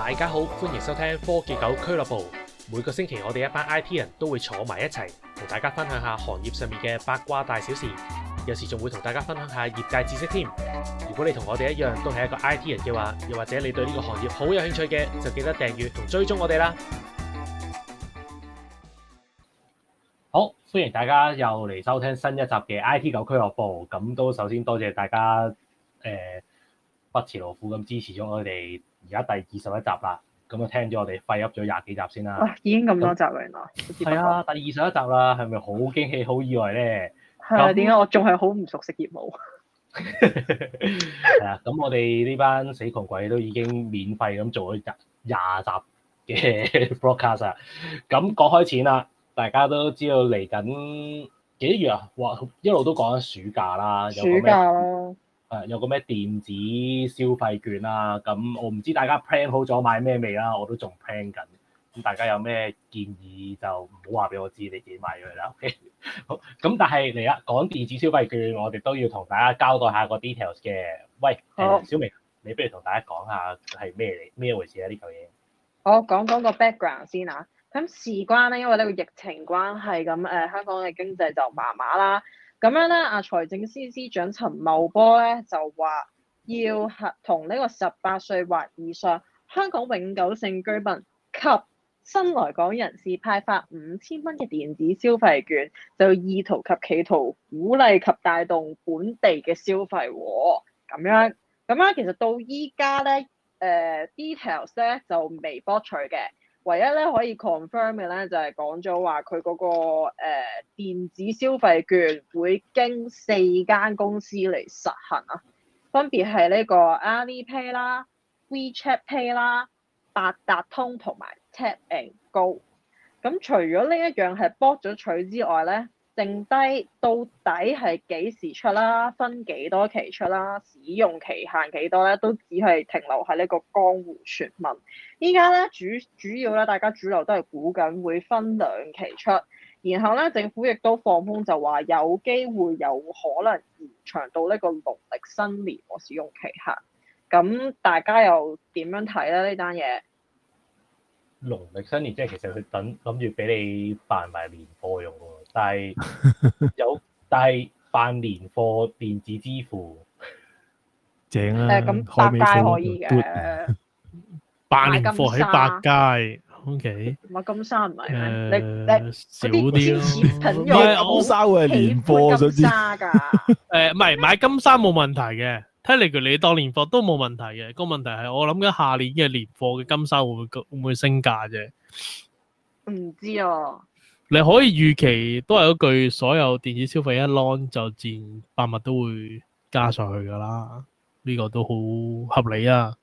大家好，歡迎收聽科技狗俱樂部。每個星期我哋一班 IT 人都會坐埋一齊，同大家分享下行業上面嘅八卦大小事，有時仲會同大家分享下業界知識添。如果你同我哋一樣都係一個 IT 人嘅話，又或者你對呢個行業好有興趣嘅，就記得訂閱同追蹤我哋啦。好，歡迎大家又嚟收聽新一集嘅 IT 狗俱樂部。咁都首先多謝大家不辭勞苦咁支持咗我哋而家第21集啦。咁啊聽咗我哋廢噏咗20幾集先啦。 哇，已經咁多集啦，原來。 係啊，第21集啦，係咪好驚喜、好意外咧？ 係啊，點解我仲係好唔熟悉業務？ 係啊，咁我哋呢班死窮鬼都已經免費咁做咗20集嘅 broadcast 啊。咁講開錢啦，大家都知道嚟緊幾月啊？哇，一路都講緊暑假啦， 暑假咯。 有個咩電子消費券啦，咁我唔知大家 plan 好咗買咩未啦，我都仲 plan 緊。咁大家有咩建議就唔好話俾我知，你自己買咗佢啦。OK， 好。咁但係嚟啦，講電子消費券，我哋都要同大家交代下個 details 嘅。喂，小明，你不如同大家講下係咩回事啊？呢嚿嘢。 我講個 background 先啊。咁事關咧，因為呢個疫情關係，咁香港嘅經濟就麻麻啦。咁樣咧，財政司司長陳茂波咧就話要同呢個18歲或以上香港永久性居民及新來港人士派發5000蚊嘅電子消費券，就意圖及企圖鼓勵及帶動本地嘅消費喎。咁樣其實到依家咧，details 咧就未博取嘅。唯一咧可以 confirm 嘅咧就係講咗話佢嗰個電子消費券會經4間公司嚟實行啊，分別係呢個 Alipay 啦、WeChat Pay 啦、八達通同埋 Tap and Go。咁除咗呢一樣係博咗取之外咧，剩低到底係幾時出啦？分幾多期出啦？使用期限幾多咧？都只係停留喺呢個江湖傳聞。依家咧主要咧，大家主流都係估緊會分2期出，然後咧政府亦都放風就話有機會有可能延長到呢個農曆新年個使用期限。咁大家又點樣睇咧呢單嘢？ 農曆新年即係其實佢諗住俾你辦埋年貨用喎，但係辦年貨電子支付正啊！ 咁百佳可以嘅， 辦年貨喺百佳 ，OK。 買金沙唔係咩？你少啲咯。 唔係金沙會係年貨，想知？ 唔係買金沙冇問題嘅。睇嚟你當年貨都冇問題嘅，個問題係我諗緊下年嘅年貨嘅金沙會唔會升價啫？ 唔知啊。 你可以預期都係嗰句，所有電子消費一 launch 就自然百物都會加上去噶啦，呢個都好合理啊。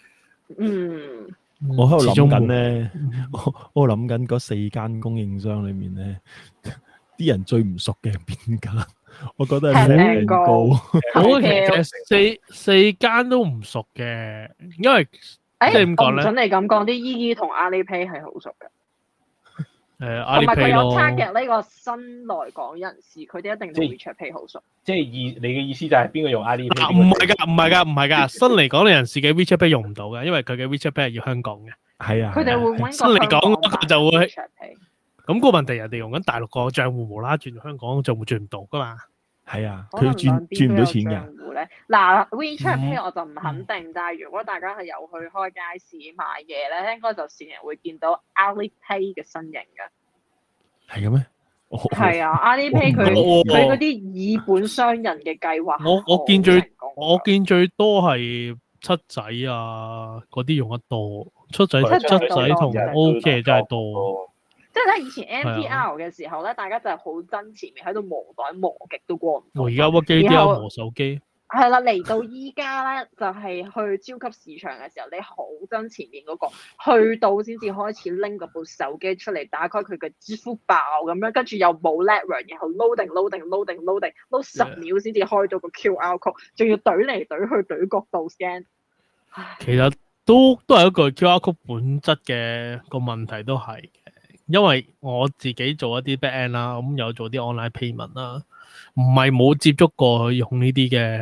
我喺度諗緊咧，我諗緊嗰4間供應商裏面咧，啲人最唔熟嘅係邊間？我覺得係Tap and Go。 我其實四間都唔熟嘅，因為即係點講咧？ 我唔準你咁講，啲姨姨同 Alipay 係好熟嘅。 Alipay 同埋佢有 target 呢個新來港人士，佢哋一定對 WeChat Pay 好熟。 即係你嘅意思就係邊個用 Alipay？ 唔係㗎，新嚟港嘅人士嘅 WeChat Pay 用唔到嘅，因為佢嘅 WeChat Pay 係要香港嘅。 係啊， 佢哋會揾新嚟港嗰個就會。 WeChat Pay。咁個問題人哋用緊大陸個賬戶，無啦啦轉香港賬戶轉唔到噶嘛？ 係啊，佢轉唔到錢㗎。 嗱 WeChat Pay 我就唔肯定，但係如果大家係有去開街市買嘢咧，應該就成日會見到 Alipay 嘅身影㗎。 係嘅咩？ 係啊 ，Alipay 佢嗰啲以本傷人嘅計劃， 我見最多係七仔啊嗰啲用得多，七仔同 OK 真係多。 即係咧，以前 MTR 嘅時候咧，大家就係好憎前面喺度磨袋磨極都過唔到。 而家屈機都有磨手機。 係啦，嚟到依家咧，就係去超級市場嘅時候，你好憎前面嗰個，去到先至開始拎嗰部手機出嚟，打開佢嘅支付寶咁樣，跟住又冇 network，然後 load 10秒先至開到個 QR code， 仲要懟嚟懟去懟角度 scan。 其實都係一個 QR code 本質嘅個問題都係嘅，因為我自己做一啲 back end 啦，咁有做啲 online payment 啦，唔係冇接觸過去用呢啲嘅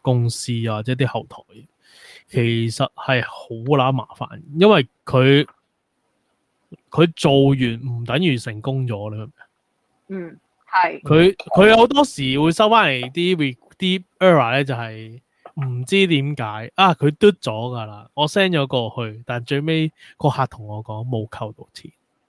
公司啊，或者啲後台，其實係好乸麻煩，因為佢做完唔等於成功咗啦。 係。 佢有好多時會收翻嚟啲 error 咧，就係唔知點解啊，佢嘟咗噶啦，我 send 咗過去，但最尾個客同我講冇扣到錢。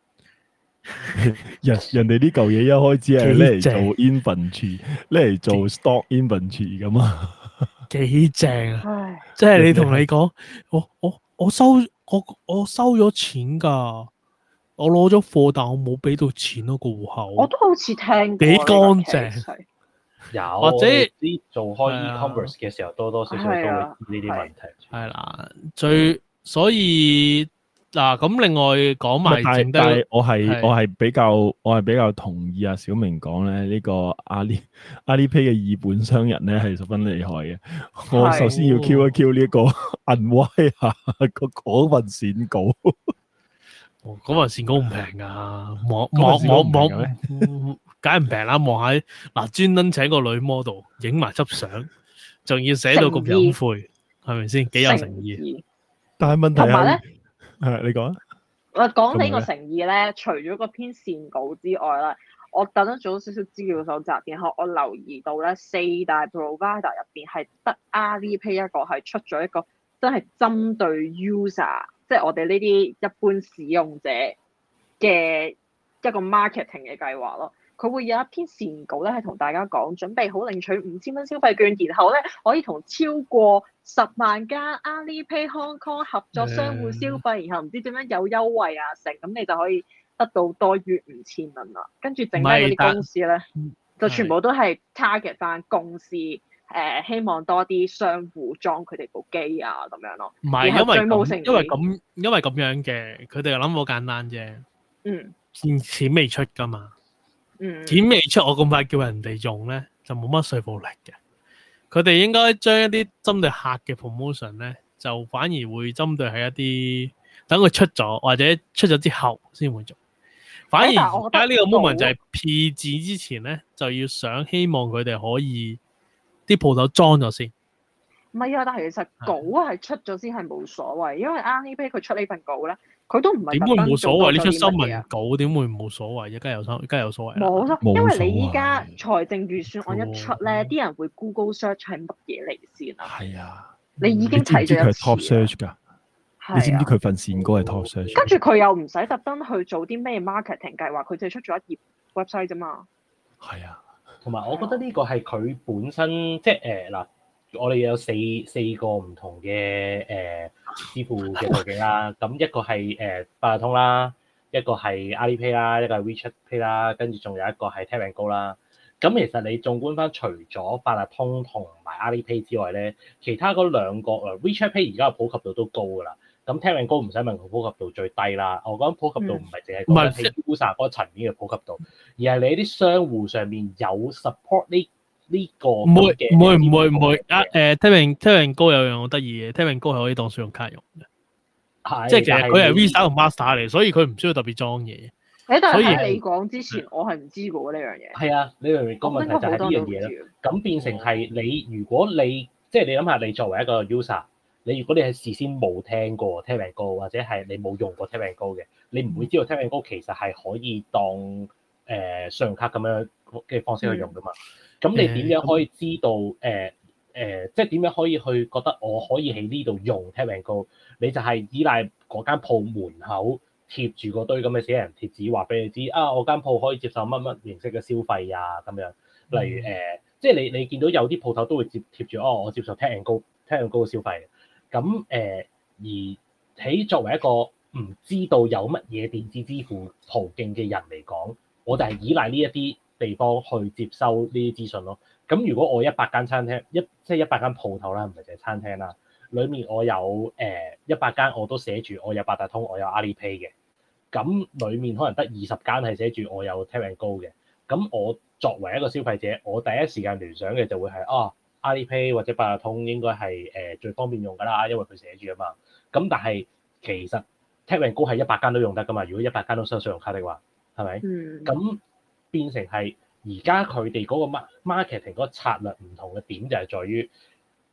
人哋呢嚿嘢一開始係拎嚟做 inventory，拎嚟做 stock inventory 咁啊， 幾正啊！ 唉， 即係你同你講，我收咗錢㗎，我攞咗貨，但我冇俾到錢咯個戶口。 我都好似聽過幾乾淨呢個 case 有或者啲做開 e-commerce 嘅時候，多多少少都會呢啲問題。 係啦，所以嗱咁，另外講埋剩低， 但係我係比較同意阿小明講咧，呢個阿里 Pay 嘅二本商人咧係十分厲害嘅。我首先要 Q 一 Q 呢個銀威下嗰份線稿。 嗰份線稿唔平噶，望梗係唔平啦。望下嗱，專登請個女 model 影埋執相，仲要寫到咁隱晦，係咪先？幾有誠意？ 但係問題同埋咧， 你講啊。 我講起個誠意咧，除咗嗰篇線稿之外咧，我等咗做少少資料搜集，然後我留意到咧，四大 provider 入邊係得 Alipay 一個係出咗一個真係針對 user， 即係我哋呢啲一般使用者嘅一個 marketing 嘅計劃咯。佢會有一篇線稿咧，係同大家講準備好領取5000蚊消費券，然後咧可以同超過10萬間 Alipay Hong Kong 合作商戶消費，然後唔知點樣有優惠啊成，咁你就可以得到多於5000蚊啦。跟住剩低嗰啲公司咧，就全部都係 target 翻公司，希望多啲商戶裝佢哋部機啊咁樣咯。 唔係因為咁樣嘅，佢哋諗好簡單啫。錢未出噶嘛。錢未出，我咁快叫人哋用咧，就冇乜說服力嘅。佢哋應該將一啲針對客嘅 promotion 咧，就反而會針對係一啲等佢出咗或者出咗之後先會做。反而而家呢個 moment 就係 P 字之前咧，就要希望佢哋可以啲鋪頭裝咗先。 唔係啊，但係其實稿係出咗先係冇所謂，因為 Alipay 佢出呢份稿咧，佢都唔係點會冇所謂？呢出新聞稿點會冇所謂？梗係有所謂。 冇錯，因為你依家財政預算案一出咧，啲人會 Google search 係乜嘢嚟先啊？ 係啊， 你已經睇咗一次。 佢係 top search 㗎。你知唔知佢份線稿係 top search？ 跟住佢又唔使特登去做啲咩 marketing 計劃，佢就係出咗一頁 website 啫嘛。 係啊， 同埋我覺得呢個係佢本身即係嗱。我哋有四個唔同嘅支付嘅途徑啦，咁一個係八達通啦，一個係 Alipay 啦，一個係 WeChat Pay 啦，跟住仲有一個係 Tap & Go 啦。咁其實你縱觀翻，除咗八達通同埋 Alipay 之外咧，其他嗰兩個WeChat Pay 而家嘅普及度都高㗎啦。咁 Tap & Go 唔使問佢普及度最低啦。我講普及度唔係淨係講喺 user 嗰層面嘅普及度，而係你啲商戶上面有 support 呢個唔會啊！Tap & Go 有樣好得意嘅，Tap & Go 係可以當信用卡用嘅，即係其實佢係 Visa 同 Master 嚟，所以佢唔需要特別裝嘢。 但係喺你講之前，我係唔知嘅呢樣嘢。 係啊，你明唔明個問題就係呢樣嘢咯？咁變成係你，如果你即係你諗下，你作為一個 user，你如果你係事先冇聽過 Tap & Go 或者係你冇用過 Tap & Go 嘅，你唔會知道 Tap & Go 其實係可以當信用卡咁樣嘅方式去用噶嘛。咁你點樣可以知道即係點樣可以去覺得我可以喺呢度用 Tap & Go？ 你就係依賴嗰間鋪門口貼住個堆咁嘅死人貼紙，話俾你知啊，我間鋪可以接受乜乜形式嘅消費啊咁樣。例如即係你見到有啲鋪頭都會貼住我接受 Tap & Go 嘅消費。咁而喺作為一個唔知道有乜嘢電子支付途徑嘅人嚟講，我就係依賴呢一啲地方去接收呢啲資訊咯。咁如果我100間餐廳，即係100間鋪頭啦，唔係淨係餐廳啦，裡面我有100間我都寫住我有八達通，我有 Alipay 嘅。咁裡面可能得20間係寫住我有 Tap & Go 嘅。咁我作為一個消費者，我第一時間聯想嘅就會係Alipay 或者八達通應該係最方便用㗎啦，因為佢寫住啊嘛。咁但係其實 Tap & Go 係100間都用得㗎嘛。如果100間都收信用卡的話，係咪？咁變成係而家佢哋嗰個 marketing 嗰個策略唔同嘅點就係在於，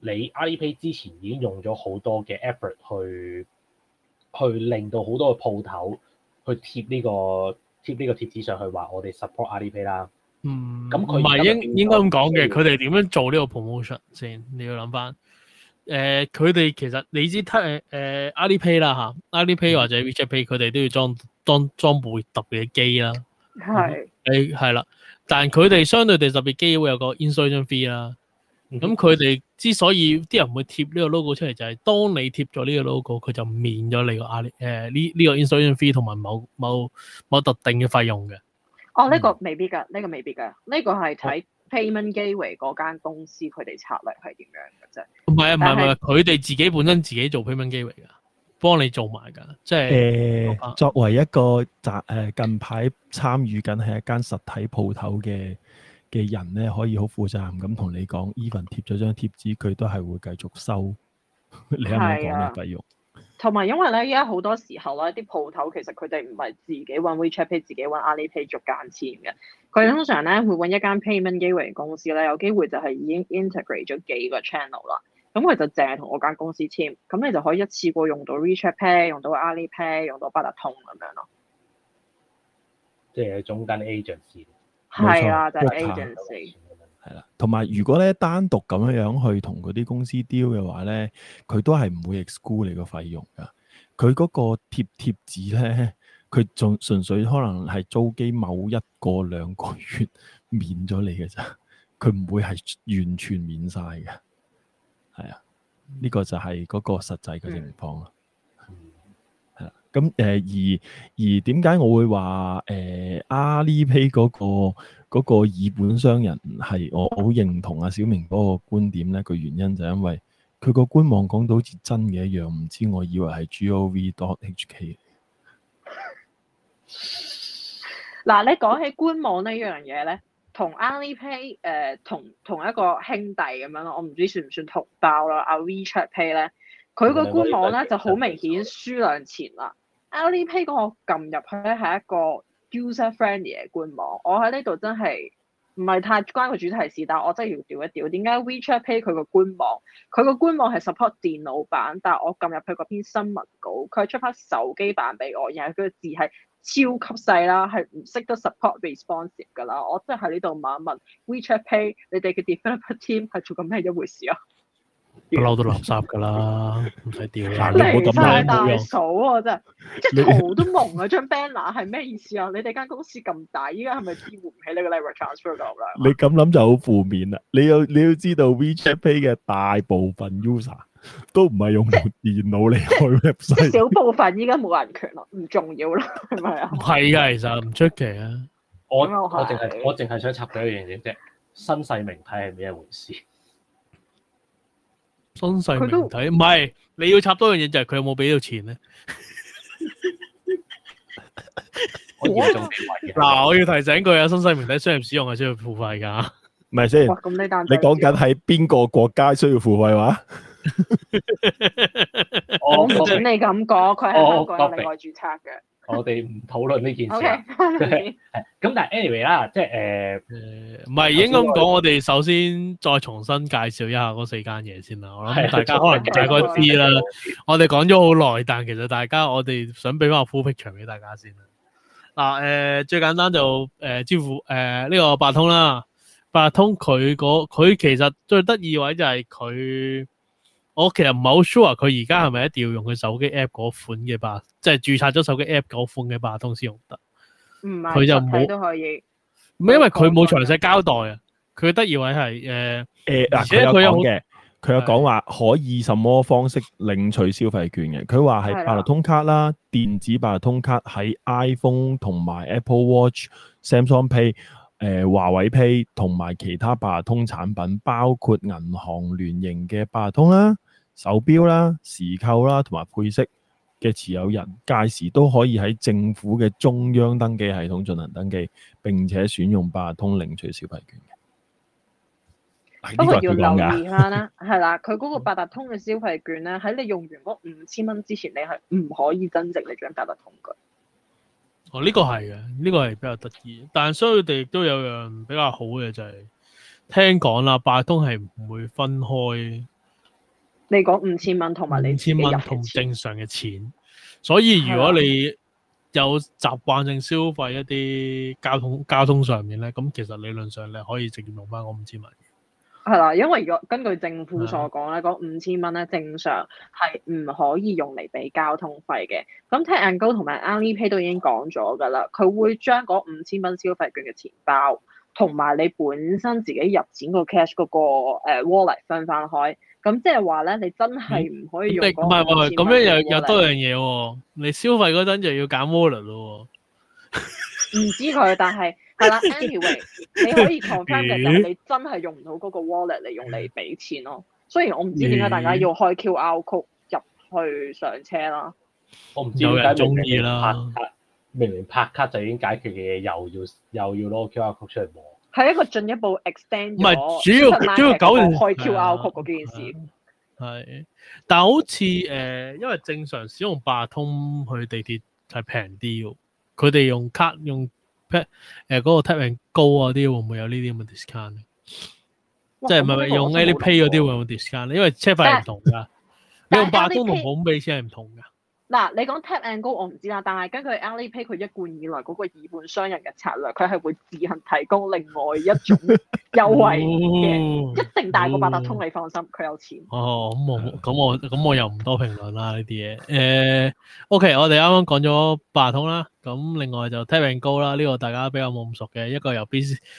你 Alipay 之前已經用咗好多嘅 effort 去令到好多嘅鋪頭去貼呢個貼紙上去話我哋 support Alipay 啦。咁佢唔係應該咁講嘅，佢哋點樣做呢個 promotion 先？你要諗翻。佢哋其實你知Alipay 啦嚇，Alipay 或者 WeChat Pay 佢哋都要裝部特別嘅機啦。係啦，但佢哋相對地特別機會有個 installation fee 啦。咁佢哋之所以啲人會貼呢個 logo 出嚟，就係當你貼咗呢個 logo，佢就免咗你個呢個 installation fee 同埋某特定嘅費用嘅。 呢個未必㗎，呢個係睇 payment gateway 嗰間公司佢哋策略係點樣嘅啫。 唔係，佢哋自己本身自己做 payment gateway 㗎，幫你做埋㗎。即係作為一個近排參與緊係一間實體鋪頭嘅人咧，可以好負責任咁同你講 ，even 貼咗張貼紙，佢都係會繼續收你啱啱講嘅費用。 同埋因為咧，而家好多時候咧，啲鋪頭其實佢哋唔係自己揾 WeChat Pay，自己揾 Alipay 逐間簽嘅。佢通常咧會揾一間 payment gateway 公司咧，有機會就係已經 integrate 咗幾個 channel 啦。咁佢就淨係同嗰間公司簽，咁你就可以一次過用到 WeChat Pay，用到 Alipay，用到八達通咁樣咯。 即係中間 agency。 係啊，就係 agency。 係啦，同埋如果咧單獨咁樣去同嗰啲公司 deal 嘅話咧，佢都係唔會 exclude 你個費用㗎。佢嗰個貼紙咧，佢仲純粹可能係租機某1個2個月免咗你嘅咋，佢唔會係完全免晒嘅。係啊，呢個就係嗰個實際嘅情況啦。係啦，咁而點解我會話Alipay 嗰個以本傷人係我好認同阿小明嗰個觀點咧？個原因就係因為佢個官網講到好似真嘅一樣，唔知我以為係 gov.hk。 嗱，你講起官網呢樣嘢咧，同 Alipay 同一個兄弟咁樣咯，我唔知算唔算同胞啦。阿 WeChat Pay 咧，佢個官網咧就好明顯輸兩錢啦。Alipay 嗰個撳入去咧係一個 user friendly 嘅官網，我喺呢度真係唔係太關個主題事，但係我真係要調一調。點解 WeChat Pay 佢個官網係 support 電腦版，但係我撳入去嗰篇新聞稿，佢出翻手機版俾我，然後佢個字係超級細啦，係唔識得 support responsive 㗎啦。我真係喺呢度問一問 WeChat Pay，你哋嘅 developer team 係做緊咩一回事啊？ 不嬲都垃圾㗎啦，唔使掉啦。 離晒大數啊！真係，即係圖都蒙啊！張 banner 係咩意思啊？你哋間公司咁大，依家係咪支付唔起呢個 leverage transfer 咁啦？ 你咁諗就好負面啦！你要知道 WeChat Pay 嘅大部分 user 都唔係用部電腦嚟開 website， 少部分依家冇人權咯，唔重要啦，係咪啊？ 唔係㗎，其實唔出奇啊！ 我淨係想插佢一樣嘢啫，新世名體係咩一回事？ 新世名體唔係，你要插多樣嘢就係佢有冇俾到錢咧？嗱，我要提醒佢啊，新世名體商業使用係需要付費㗎， 唔係先？你講緊喺邊個國家需要付費話？ 我唔准你咁講，佢係香港有另外註冊嘅。 我哋唔討論呢件事。 Okay. 咁但係 anyway 啦，即係唔係應該咁講。我哋首先再重新介紹一下嗰4間嘢先啦。我諗大家可能大概知啦。我哋講咗好耐，但其實我哋想俾翻個 full picture 俾大家先啦。嗱，最簡單就支付呢個八達通啦。八達通佢其實最得意位就係佢。我其實唔係好 sure 佢而家係咪一定要用佢手機 app 嗰款嘅八，即係註冊咗手機 app 嗰款嘅八達通先用得。 唔係， 佢就冇都可以。 唔係因為佢冇詳細交代啊。佢得意位係而且佢有嘅， 佢有講話可以什麼方式領取消費券嘅。佢話係八達通卡啦，電子八達通卡喺 iPhone 同埋 Apple Watch、Samsung Pay。華為 Pay 同埋其他八達通產品，包括銀行聯營嘅八達通啦、手錶啦、時購啦同埋配飾嘅持有人，屆時都可以喺政府嘅中央登記系統進行登記，並且選用八達通領取消費券嘅。 不過要留意下啦，係啦，佢嗰個八達通嘅消費券咧，喺你用完嗰5000蚊之前，你係唔可以增值你張八達通嘅。 哦，呢個係嘅，呢個係比較得意，但係相對地亦都有樣比較好嘅就係聽講啦，八達通係唔會分開你講5000蚊同埋你 5000蚊同正常嘅錢，所以如果你有習慣性消費一啲交通上面咧，咁其實理論上你可以直接用翻嗰5000蚊。 係啦，因為如果根據政府所講咧，嗰5000蚊咧正常係唔可以用嚟俾交通費嘅。咁 Tap and Go 同埋 Alipay 都已經講咗㗎啦，佢會將嗰5000蚊消費券嘅錢包同埋你本身自己入錢個 cash 嗰個wallet 分翻開。咁即係話咧，你真係唔可以用嗰個5000蚊。唔係， 咁樣又多樣嘢喎。你消費嗰陣就要揀 wallet 咯。 唔知佢，但係係啦 ，anyway， 你可以 confirm 嘅就係你真係用唔到嗰個 wallet 嚟用嚟俾錢咯。雖然我唔知點解大家要開 QR code 入去上車啦。 我唔知點解中意啦。明明拍卡就已經解決嘅嘢，又要攞 QR code 出嚟摸。 係一個進一步 extend 咗。 唔係主要搞開 QR code 嗰件事。 係，但係好似因為正常使用八達通去地鐵係平啲喎。佢哋用卡用 嗰個 Tap and Go 啊啲會唔會有呢啲咁嘅 discount 咧？即係咪用 Alipay 嗰啲會有 discount 咧？因為車費係唔同㗎，你用八達通同普通俾錢係唔同㗎。嗱， 你講 Tap and Go 我唔知啦，但係根據 Alipay 佢一貫以來嗰個以本傷人嘅策略，佢係會自行提供另外一種優惠嘅，一定大過八達通，你放心，佢有錢。 咁我又唔多評論啦呢啲嘢。OK， 我哋啱啱講咗八達通啦，咁另外就 Tap and Go 啦，呢個大家比較冇咁熟嘅，一個由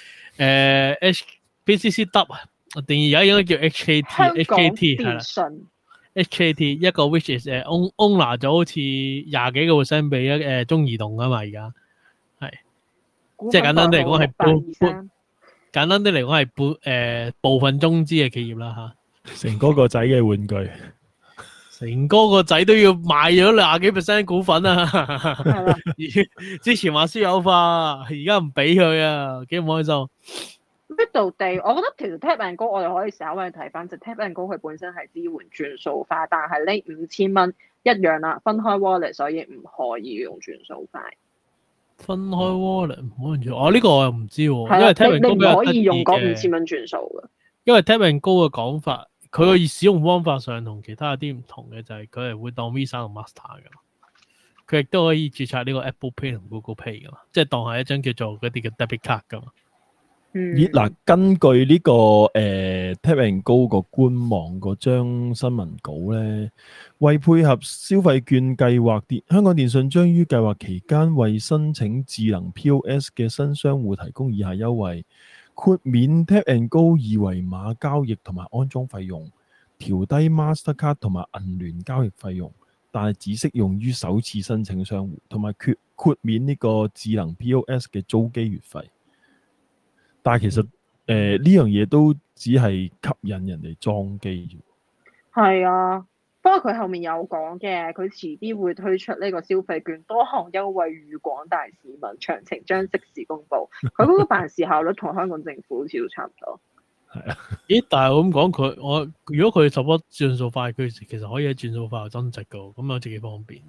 BCCW 定義而家應該叫 HKT 係啦。HKT 一個 which is owner 咗好似20幾個%俾中移動㗎嘛，而家係即係簡單啲嚟講係簡單啲嚟講係部分中資嘅企業啦嚇。 成哥個仔嘅玩具， 成哥個仔都要賣咗20幾% 股份啊！之前話私有化，而家唔俾佢啊，幾唔開心。 呢度地，我覺得其實 Tap and Go 我哋可以稍微睇翻，就 Tap and Go 佢本身係支援轉數快，但係呢5000蚊一樣啦，分開 wallet， 所以唔可以用轉數快。 分開 wallet 唔可以用，呢個我又唔知喎，因為 Tap and Go 你唔可以用嗰5000蚊轉數嘅。 因為 Tap and Go 嘅講法，佢個使用方法上同其他有啲唔同嘅，就係佢係會當 Visa 同 Master 㗎嘛。佢亦都可以註冊呢個 Apple Pay 同 Google Pay 㗎嘛，即係當係一張叫做嗰啲嘅 debit card 㗎嘛。 嗱，根據呢個Tap and Go 個官網嗰張新聞稿咧，為配合消費券計劃，香港電訊將於計劃期間為申請智能 POS 嘅新商戶提供以下優惠：豁免 Tap and Go 二維碼交易同埋安裝費用，調低 Mastercard 同埋銀聯交易費用，但係只適用於首次申請商戶，同埋豁免呢個智能 POS 嘅租機月費。但係其實呢樣嘢都只係吸引人哋裝機。 係啊，不過佢後面有講嘅，佢遲啲會推出呢個消費券多項優惠予廣大市民，詳情將即時公佈。佢嗰個辦事效率同香港政府好似都差唔多。 係啊， 咦？但係我咁講，如果佢 support 轉數快，佢其實可以喺轉數快度增值㗎，咁有幾方便。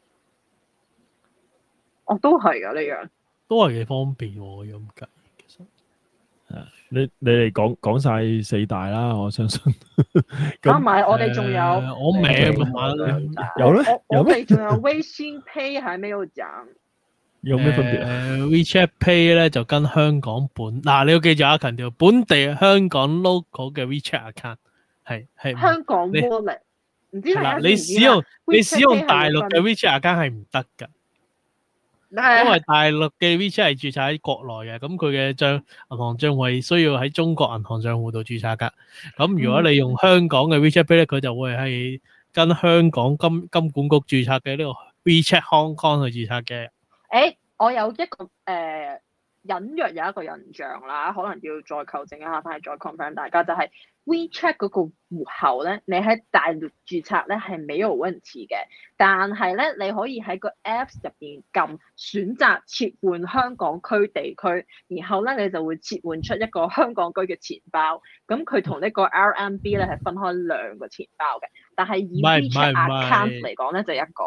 都係㗎呢樣， 都係幾方便喎，咁計。 你哋講晒4大啦，我相信。 加埋我哋仲有， 我名有咧， 我哋仲有微信 Pay 還沒有講。 有咩分別 ？WeChat Pay 咧就跟香港你要記住啊，強調本地香港 local 嘅 WeChat account 係香港 wallet， 唔知係你使用大陸嘅 WeChat account 係唔得㗎。因為大陸嘅 WeChat 係註冊喺國內嘅，咁佢嘅銀行帳戶需要喺中國銀行帳戶度註冊㗎。咁如果你用香港嘅 WeChat Pay 咧，佢就會係跟香港金管局註冊嘅呢個 WeChat Hong Kong 去註冊嘅。 我有一個隱約有一個印象啦，可能要再求證一下，翻嚟再 confirm 大家，就係 WeChat 嗰個戶口咧，你喺大陸註冊咧係沒有問題嘅，但係咧你可以喺個 Apps 入邊撳選擇切換香港區地區，然後咧你就會切換出一個香港區嘅錢包，咁佢同呢個 RMB 咧係分開兩個錢包嘅，但係以 WeChat account 嚟講咧就一個。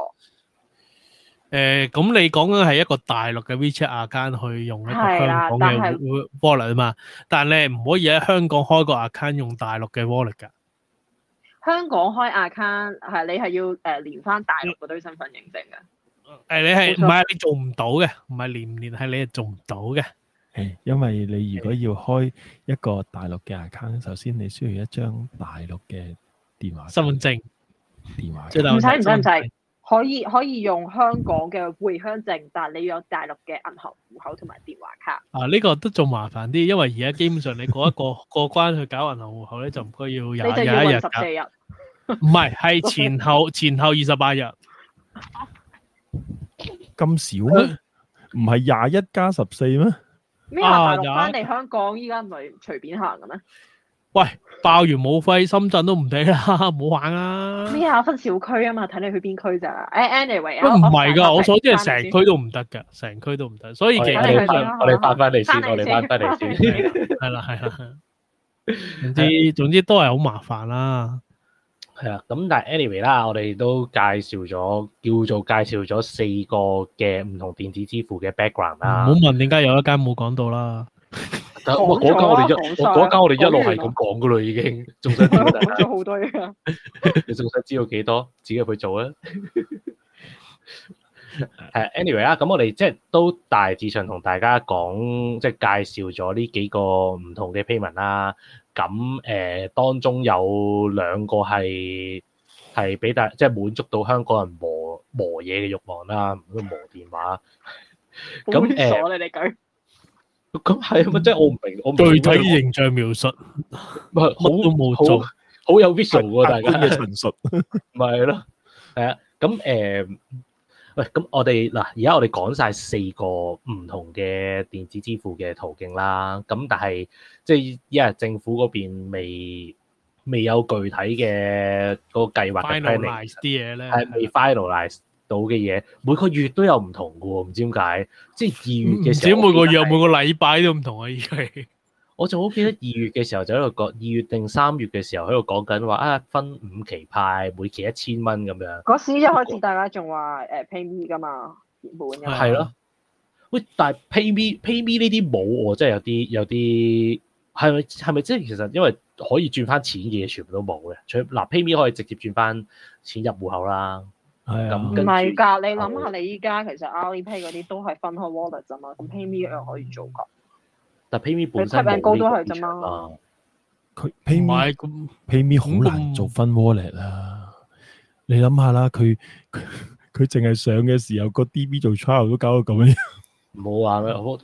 咁你講緊係一個大陸嘅 WeChat account 去用一個香港嘅 wallet 啊嘛，但係你唔可以喺香港開個 account 用大陸嘅 wallet 㗎。 香港開 account 係你係要連翻大陸嗰堆身份認證嘅。 你係唔係你做唔到嘅？唔係連唔連係你係做唔到嘅。 因為你如果要開一個大陸嘅 account，首先你需要一張大陸嘅電話身份證電話。 唔使，可以用香港嘅回鄉證，但係你要有大陸嘅銀行戶口同埋電話卡。 呢個都仲麻煩啲，因為而家基本上你過過關去搞銀行戶口咧，就唔該要21日 14日。 唔係，係前後28日。 咁少咩？唔係21+14咩？ 咩大陸翻嚟香港依家唔係隨便行嘅咩？ 喂，爆完武肺，深圳都唔俾啦，唔好玩啊！ 咩啊？分小區啊嘛，睇你去邊區咋？anyway， 唔係㗎，我所知係成區都唔得㗎，成區都唔得。所以其實我哋翻返嚟先，係啦。總之都係好麻煩啦。 係啊，咁但係 anyway 啦，我哋都叫做介紹咗4個嘅唔同電子支付嘅 background 啦。 唔好問點解有一間冇講到啦。 嗰間我哋一路係咁講噶啦，已經仲想知道講咗好多嘢啊！ 你仲想知道幾多？自己去做啊！anyway 啦，咁我哋即係都大致上同大家講，即係介紹咗呢幾個唔同嘅 payment 啦。咁當中有2個係俾即係滿足到香港人磨嘢嘅慾望啦，磨電話。咁你哋講。 咁係啊，即係我唔明， 具體形象描述， 好都冇做，好有 visual 喎，大家嘅陳述， 咪係咯，係啊，咁喂，咁我哋嗱，而家我哋講晒4個唔同嘅電子支付嘅途徑啦，咁但係即係因為政府嗰邊未有具體嘅嗰個計劃嘅 finalize 啲嘢咧， 係未 finalize到嘅嘢，每個月都有唔同嘅喎，唔知點解，即係2月嘅時候， 唔止每個月，每個禮拜都唔同啊！依家我就好記得2月嘅時候就喺度講，2月定3月嘅時候喺度講緊話分5期派，每期1000蚊咁樣。 嗰時一開始大家仲話PayMe 㗎嘛，原本嘅。 係咯。喂，但係 PayMe 呢啲冇喎，真係有啲係咪即係其實因為可以轉翻錢嘅嘢全部都冇嘅？除嗱 PayMe 可以直接轉翻錢入戶口啦。 係啊。 唔係㗎，你諗下你依家其實 Alipay 嗰啲都係分開 wallet 啫嘛，咁 PayMe 一樣可以做㗎。 但 PayMe 本身冇高都係啫嘛。 佢 PayMe 好難做分 wallet 啦。你諗下啦，佢淨係上嘅時候個 DB 做 trial 都搞到咁樣。 唔好話咩，我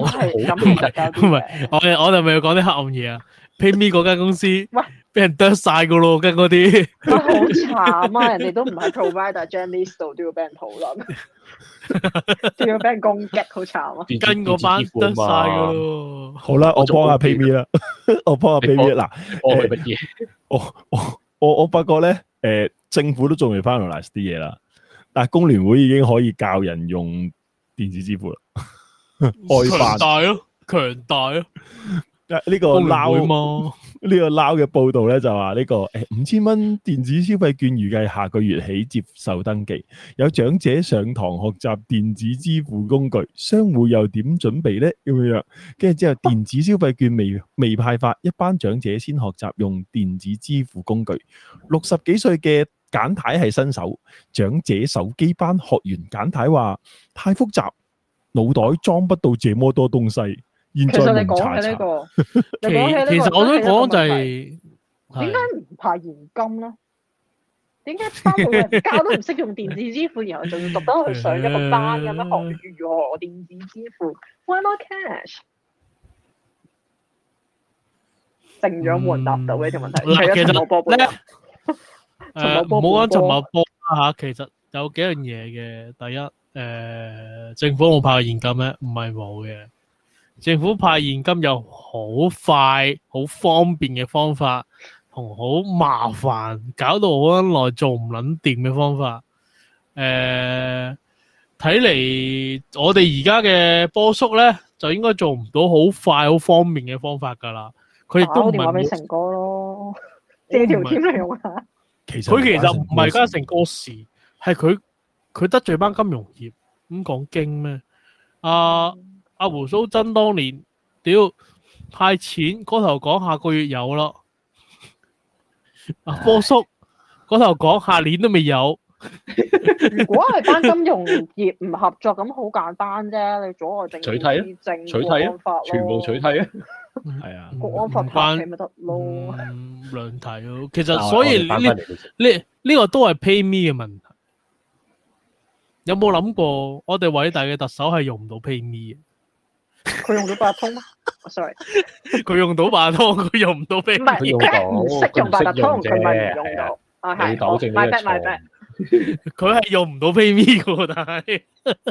我哋咪要講啲黑暗嘢啊 ！PayMe 嗰間公司，喂，俾人剁晒噶咯，跟嗰啲。 好慘啊！人哋都唔喺 provider Gen list 度都要俾人討論，仲要俾人攻擊，好慘啊！ 跟嗰班剁晒噶咯。 好啦，我幫下 PayMe 啦，我幫下 PayMe 嗱。 乜嘢？ 我發覺咧，政府都仲未 finalize 啲嘢啦，但係工聯會已經可以教人用電子支付啦。 強大咯，強大咯。 呢個撈嘅報道咧就話呢個5000蚊電子消費券預計下個月起接受登記，有長者上堂學習電子支付工具，商戶又點準備咧？咁樣，跟住之後電子消費券未派發，一班長者先學習用電子支付工具。60幾歲嘅簡太係新手，長者手機班學完簡太話太複雜，腦袋裝不到這麼多東西。現在蒙查查。 其實我都講就係點解唔派現金咧？點解班老人家都唔識用電子支付，然後仲要特登去上一個班咁樣學如何電子支付 ？Why not cash？ 成長冇人答到呢條問題。 其實咧，唔好講陳茂波啦嚇，其實有幾樣嘢嘅。第一，政府冇派現金咩？唔係冇嘅。政府派現金有好快、好方便嘅方法，同好麻煩，搞到好耐做唔撚掂嘅方法。睇嚟我哋而家嘅波叔咧，就應該做唔到好快、好方便嘅方法㗎啦。佢亦都唔係打電話俾成哥咯，借條添嚟用下。佢其實唔係加成哥事，係佢得罪班金融業咁講經咩？阿胡鬚曾當年屌派錢嗰頭講下個月有啦， 阿波叔嗰頭講下年都未有。 如果係單金融業唔合作，咁好簡單啫，你阻礙政府取締啊， 政取締啊， 國安法咯， 全部取締啊， 係啊， 國安法拍起咪得咯。 兩題咯，其實所以呢個都係 pay me 嘅問題。有冇諗過我哋偉大嘅特首係用唔到 pay me 嘅？ 佢用到八達通咩？sorry， 佢用到八達通，佢用唔到 pay。 唔係，佢唔識用八達通，佢咪唔用到。啊係， 你糾正呢個錯。 佢係用唔到 pay me 嘅，但係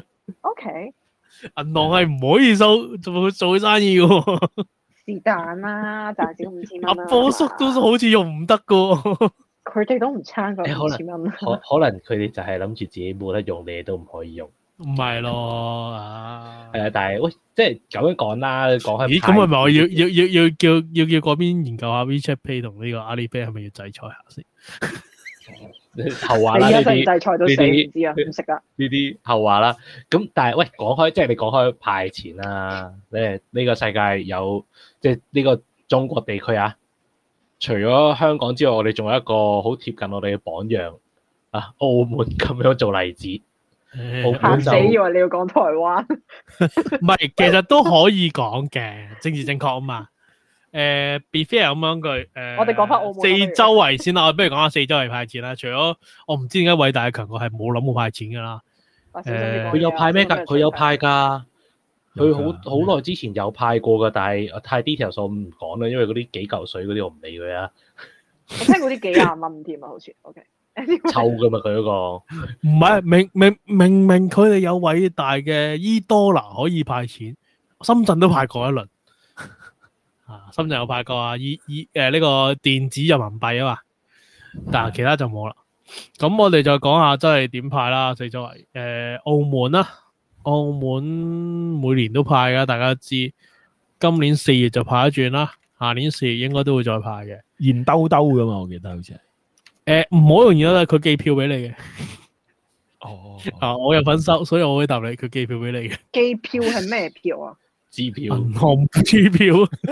OK， 銀行係唔可以做生意嘅。 是但啦，賺少5000蚊啦。 阿波叔都好似用唔得嘅。 佢哋都唔差過5000蚊。 可能佢哋就係諗住自己冇得用，你哋都唔可以用。 唔係咯，啊， 係啊，但係喂，即係咁樣講啦，講開。 咦，咁係咪我要叫嗰邊研究下 WeChat Pay 同呢個 Alipay 係咪要制裁下先？ 後話啦，呢啲制裁到死唔知啊，唔識啊。 呢啲後話啦。咁但係喂，講開即係你講開派錢啦，呢個世界有即係呢個中國地區啊，除咗香港之外，我哋仲有一個好貼近我哋嘅榜樣啊，澳門咁樣做例子。 嚇死，以為你要講台灣。 唔係，其實都可以講嘅，政治正確啊嘛。be fair 咁樣句， 我哋講翻澳門四周圍先啦，我不如講下四周圍派錢啦。除咗我唔知點解偉大嘅強國係冇諗過派錢噶啦。 佢有派咩㗎？佢有派㗎。佢好耐之前有派過㗎，但係太 detail 我唔講啦，因為嗰啲幾嚿水嗰啲我唔理佢啊。 我聽過啲幾廿蚊添啊，好似 OK。 臭㗎嘛佢嗰個。 唔係明佢哋有偉大嘅e-dollar可以派錢，深圳都派過一輪。深圳有派過啊，呢個電子人民幣啊嘛，但係其他就冇啦。咁我哋再講下真係點派啦，四周圍澳門啦，澳門每年都派噶，大家都知。今年4月就派一轉啦，下年4月應該都會再派嘅， 現兜兜噶嘛，我記得好似係唔好容易啦，佢寄票俾你嘅。 哦， 我有份收，所以我可以答你，佢寄票俾你嘅。 寄票係咩票啊？ 支票， 銀行支票。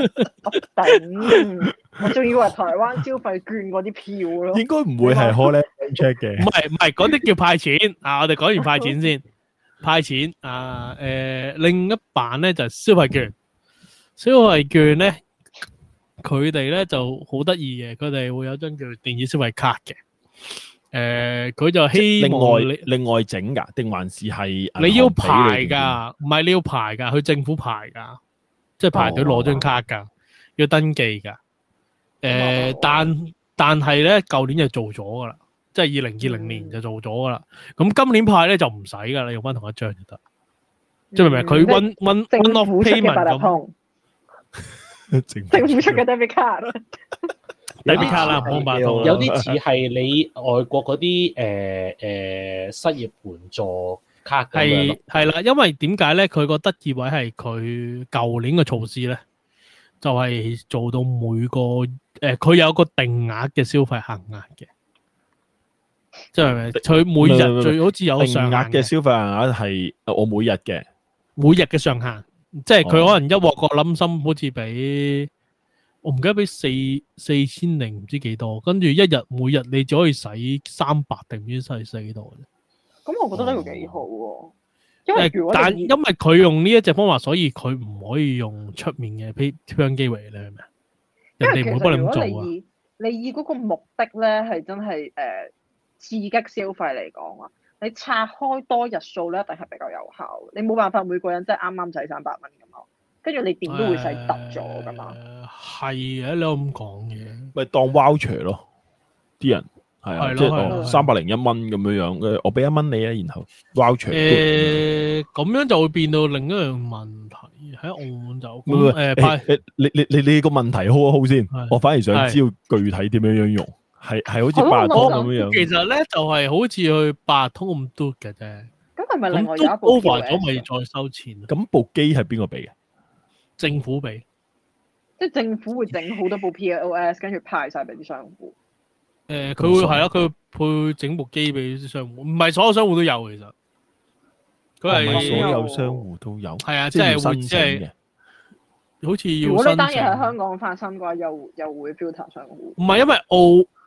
頂，我仲以為台灣消費券嗰啲票咯。 應該唔會係 call check 嘅。 唔係，嗰啲叫派錢啊！我哋講完派錢先，派錢啊！另一版咧就係消費券。消費券咧，佢哋咧就好得意嘅，佢哋會有張叫電子消費卡嘅。佢就希望另外整噶，定還是係你要排噶？唔係你要排噶，去政府排噶，即係排隊攞張卡噶，要登記噶。但係咧，舊年就做咗噶啦，即係2020年就做咗噶啦。咁今年派咧就唔使噶啦，用翻同一張就得。即係明唔明？佢one off payment 咁。 政府出嘅 debit card。 debit card 啦，冇辦法。 有啲似係你外國嗰啲失業援助卡咁樣。 係啦，因為點解咧？佢個得意位係佢舊年嘅措施咧，就係做到每個佢有個定額嘅消費限額嘅，即係佢每日最好似有上限嘅消費限額係我每日嘅上限，即係佢可能一鑊個冧心好似俾。我唔記得俾4000零唔知幾多，跟住每日你只可以使300定唔知使4多啫。 咁我覺得呢個幾好喎， 因為佢用呢一隻方法，所以佢唔可以用出面嘅PayPal機嚟，你明唔明？人哋唔會幫你咁做啊。 你以嗰個目的咧係真係刺激消費嚟講啊，你拆開多日數咧，一定係比較有效。你冇辦法每個人即係啱啱使300蚊咁咯。跟住你點都會使得咗噶嘛？ 係嘅，你有咁講嘅， 咪當 voucher 咯，啲人係啊，即係301蚊咁樣樣，我俾1蚊你啊，然後 voucher。 咁樣就會變到另一樣問題喺澳門就你個問題好先，我反而想知道具體點樣用，係好似八達通咁樣樣。 其實咧就係好似去八達通咁嘟嘅啫。 咁係咪另外有一部 over 咗咪再收錢？ 咁部機係邊個俾嘅？ 政府俾， 即係政府會整好多部 POS， 跟住派晒俾啲商戶。 佢會係啦，佢會整部機俾啲商戶，唔係所有商戶都有其實。佢係所有商戶都有。 係啊，即係會即係，好似要。 如果呢單嘢喺香港發生嘅話，又會 filter 商戶。 唔係因為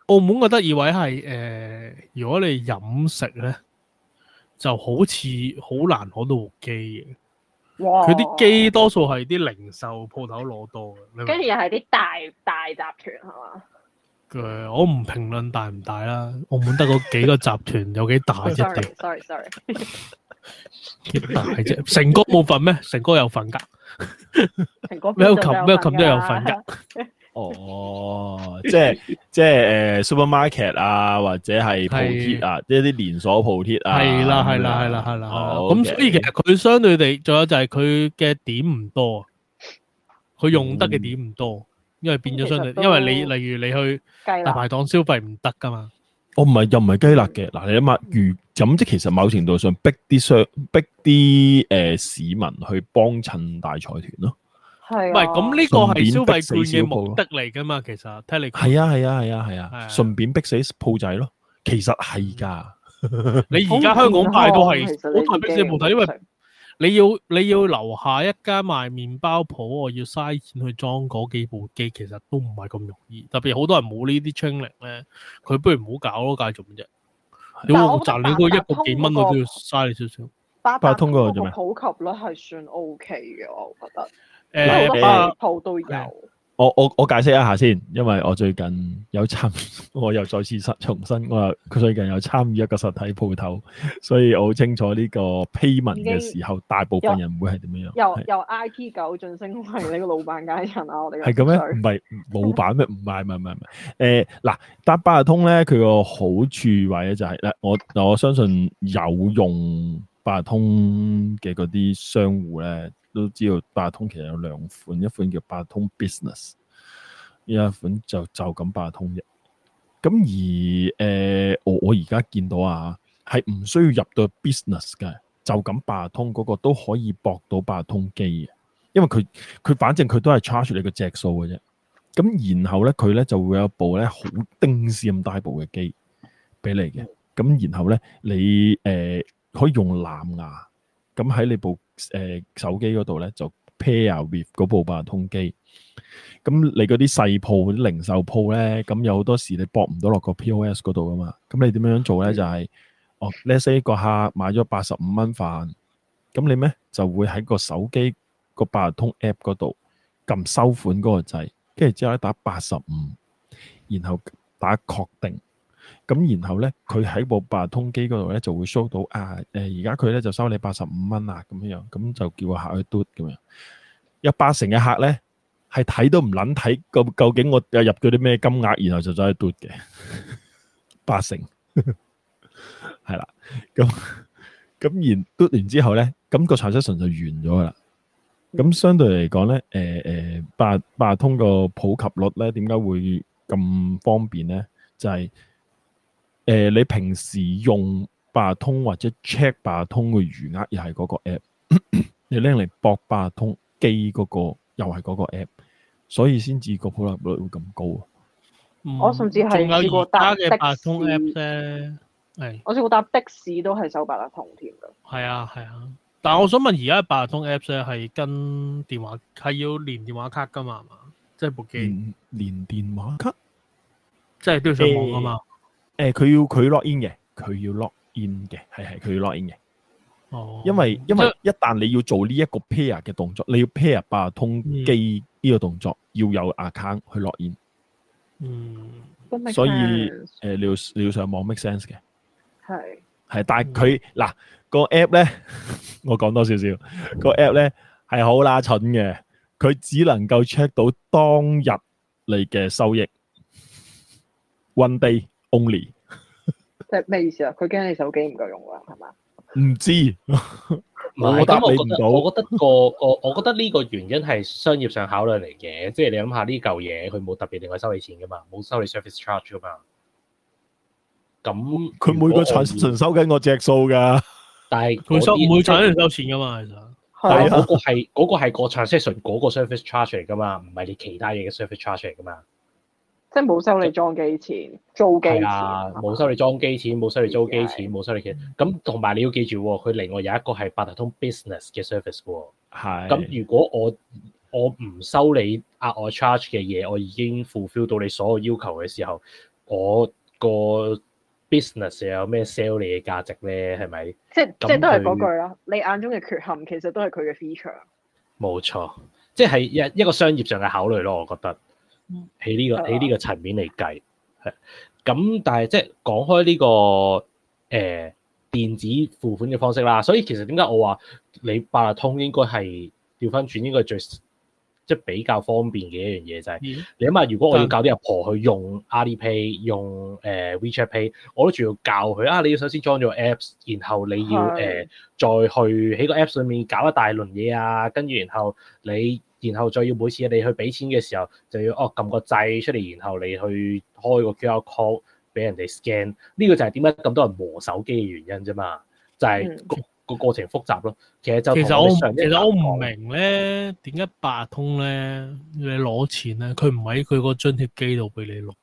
澳門嘅得意位係如果你飲食咧，就好似好難攞到部機嘅。 哇！ 佢啲機多數係啲零售鋪頭攞多嘅， 跟住又係啲大集團係嘛？ 我唔評論大唔大啦，澳門得嗰幾個集團有幾大啫 ？Sorry， 幾大啫？成哥冇份咩？成哥有份㗎。 成哥咩琴都有份㗎。 哦，即係supermarket 啊，或者係鋪貼啊，即係啲連鎖鋪貼啊。係啦。 咁所以其實佢相對地，仲有就係佢嘅點唔多，佢用得嘅點唔多，因為變咗相對，因為你例如你去大排檔消費唔得噶嘛。 又唔係雞肋嘅。嗱，你諗下，咁即其實某程度上逼啲市民去幫襯大財團咯。 係， 唔係咁呢個係消費券嘅目的嚟噶嘛？其實聽你講係啊，順便逼死鋪仔咯。其實係㗎。 你而家香港派都係好多人逼死鋪仔，因為你要留下一間賣麵包鋪，我要嘥錢去裝嗰幾部機，其實都唔係咁容易。特別好多人冇呢啲 training 咧，佢不如唔好搞咯，介做乜啫？你我賺你嗰一個幾蚊，我都要嘥你少少。 八達通嗰個普及率係算 OK 嘅，我覺得。 好多鋪都有。 我解釋一下先，因為我最近有我又再次重申，佢最近有參與一個實體鋪頭，所以我好清楚呢個 payment 嘅時候，大部分人會係點樣。 由 IT 狗晉升為呢個老闆階層啊！我哋係咁咩？唔係老闆咩？唔係。嗱，搭八達通咧，佢個好處位咧就係我相信有用八達通嘅嗰啲商戶咧，都知道八達通其實有兩款，一款叫八達通 Business， 一款就咁八達通啫。咁而我而家見到係唔需要入到 Business 嘅，就咁八達通嗰個都可以駁到八達通機嘅，因為佢反正佢都係 charge 你個隻數嘅啫。咁然後咧佢咧就會有部咧好丁屎咁大部嘅機俾你嘅。咁然後咧你可以用藍牙咁喺你部手機嗰度咧就 pair with 嗰部八達通機。咁你嗰啲細鋪、啲零售鋪咧，咁有好多時你駁唔到落個 POS 嗰度噶嘛。咁你點樣做咧？就係let's say 個客買咗85蚊飯，咁你咩就會喺個手機個八達通 app 嗰度撳收款嗰個掣，跟住之後咧打85，然後打確定。咁然後咧，佢喺部八達通機嗰度咧就會 show 到而家佢咧就收你85蚊啊，咁樣，咁就叫個客去嘟咁樣。有80%嘅客咧係睇都唔撚睇，究竟我入咗啲咩金額，然後就走去嘟嘅。80%係啦，咁然嘟完之後咧，咁個 transaction 就完咗噶啦。咁相對嚟講咧，八達通個普及率咧，點解會咁方便咧？就係你平時用八達通或者 check 八達通嘅餘額又係嗰個 app， 你拎嚟駁八達通機嗰個又係嗰個 app， 所以先至個普及率會咁高。 我甚至係試過搭的士， 八達通 app 啫。 我試過搭的士都係收八達通添㗎。 係啊，但係我想問，而家八達通 app 咧係跟電話係要連電話卡㗎嘛？係嘛？即係部機連電話卡， 即係都要上網㗎嘛？ 佢 log in 嘅，佢要 log in 嘅，係佢要 log in 嘅。 哦， 因為一旦你要做呢一個 pair 嘅動作，你要 pair 八達通機呢個動作，要有 account 去 log in。所以你要上網 make sense 嘅。係，但係佢嗱個 app 咧，我講多少少個 app 咧係好乸蠢嘅，佢只能夠 check 到當日你嘅收益 ，one day only。 即係咩意思啊？佢驚你手機唔夠用啦，係嘛？ 唔知， 我答你唔到。我覺得呢個原因係商業上考慮嚟嘅，即係你諗下呢嚿嘢，佢冇特別另外收你錢噶嘛，冇收你 service charge 噶嘛。咁佢每個 transaction 收緊我隻數噶， 但係佢唔會收錢噶嘛，其實。 但係嗰個係個 transaction 嗰個 service charge 嚟噶嘛，唔係你其他嘢嘅 service charge 嚟噶嘛。 即係冇收你裝機錢、租機錢。係啊，冇收你裝機錢，冇收你租機錢，冇收你嘅。咁同埋你要記住，佢另外有一個係八達通 business 嘅 service 喎。 係。 咁如果我唔收你額外 charge 嘅嘢，我已經 fulfill 到你所有要求嘅時候， 我個 business 有咩 sell 你嘅價值咧？係咪？ 即係都係嗰句啦。你眼中嘅缺陷其實都係佢嘅 feature。冇錯，即係一個商業上嘅考慮咯。我覺得喺呢個層面嚟計係咁，但係即係講開呢個電子付款嘅方式啦。所以其實點解我話你八達通應該係調翻轉，應該係最即係比較方便嘅一樣嘢就係，你諗下，如果我要教啲阿婆去用 Alipay、用WeChat Pay，我都仲要教佢啊！你要首先裝咗 Apps， 然後你要再去喺個 Apps 上面搞一大輪嘢啊，跟住然後再要每次你去俾錢嘅時候，就要撳個掣出嚟，然後你去開個 QR code 俾人哋 scan。呢個就係點解咁多人磨手機嘅原因啫嘛，就係個過程複雜咯。其實我唔明咧，點解八達通咧你攞錢咧，佢唔喺佢個津貼機度俾你攞？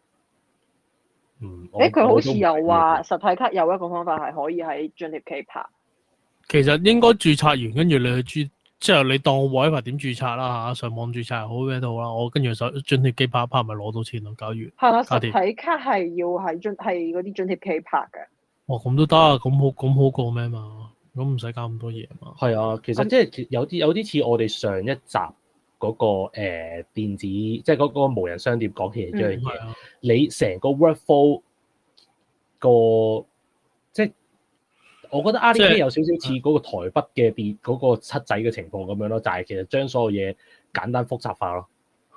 佢好似又話實體卡有一個方法係可以喺津貼機拍。 其實應該註冊完，跟住你去即係你當我 WiFi 點註冊啦嚇，上網註冊又好咩都好啦，我跟住手津貼機拍咪攞到錢咯。假如係啦，實體卡係要喺係嗰啲津貼機拍嘅。 咁都得啊，咁好過咩嘛？咁唔使搞咁多嘢嘛。 係啊，其實即係有啲似我哋上一集嗰個電子，即係嗰個無人商店講起嚟一樣嘢。你成個 workflow 個即係我覺得 Alipay 有少少似嗰個台北嘅嗰個七仔嘅情況咁樣咯，就係其實將所有嘢簡單複雜化咯。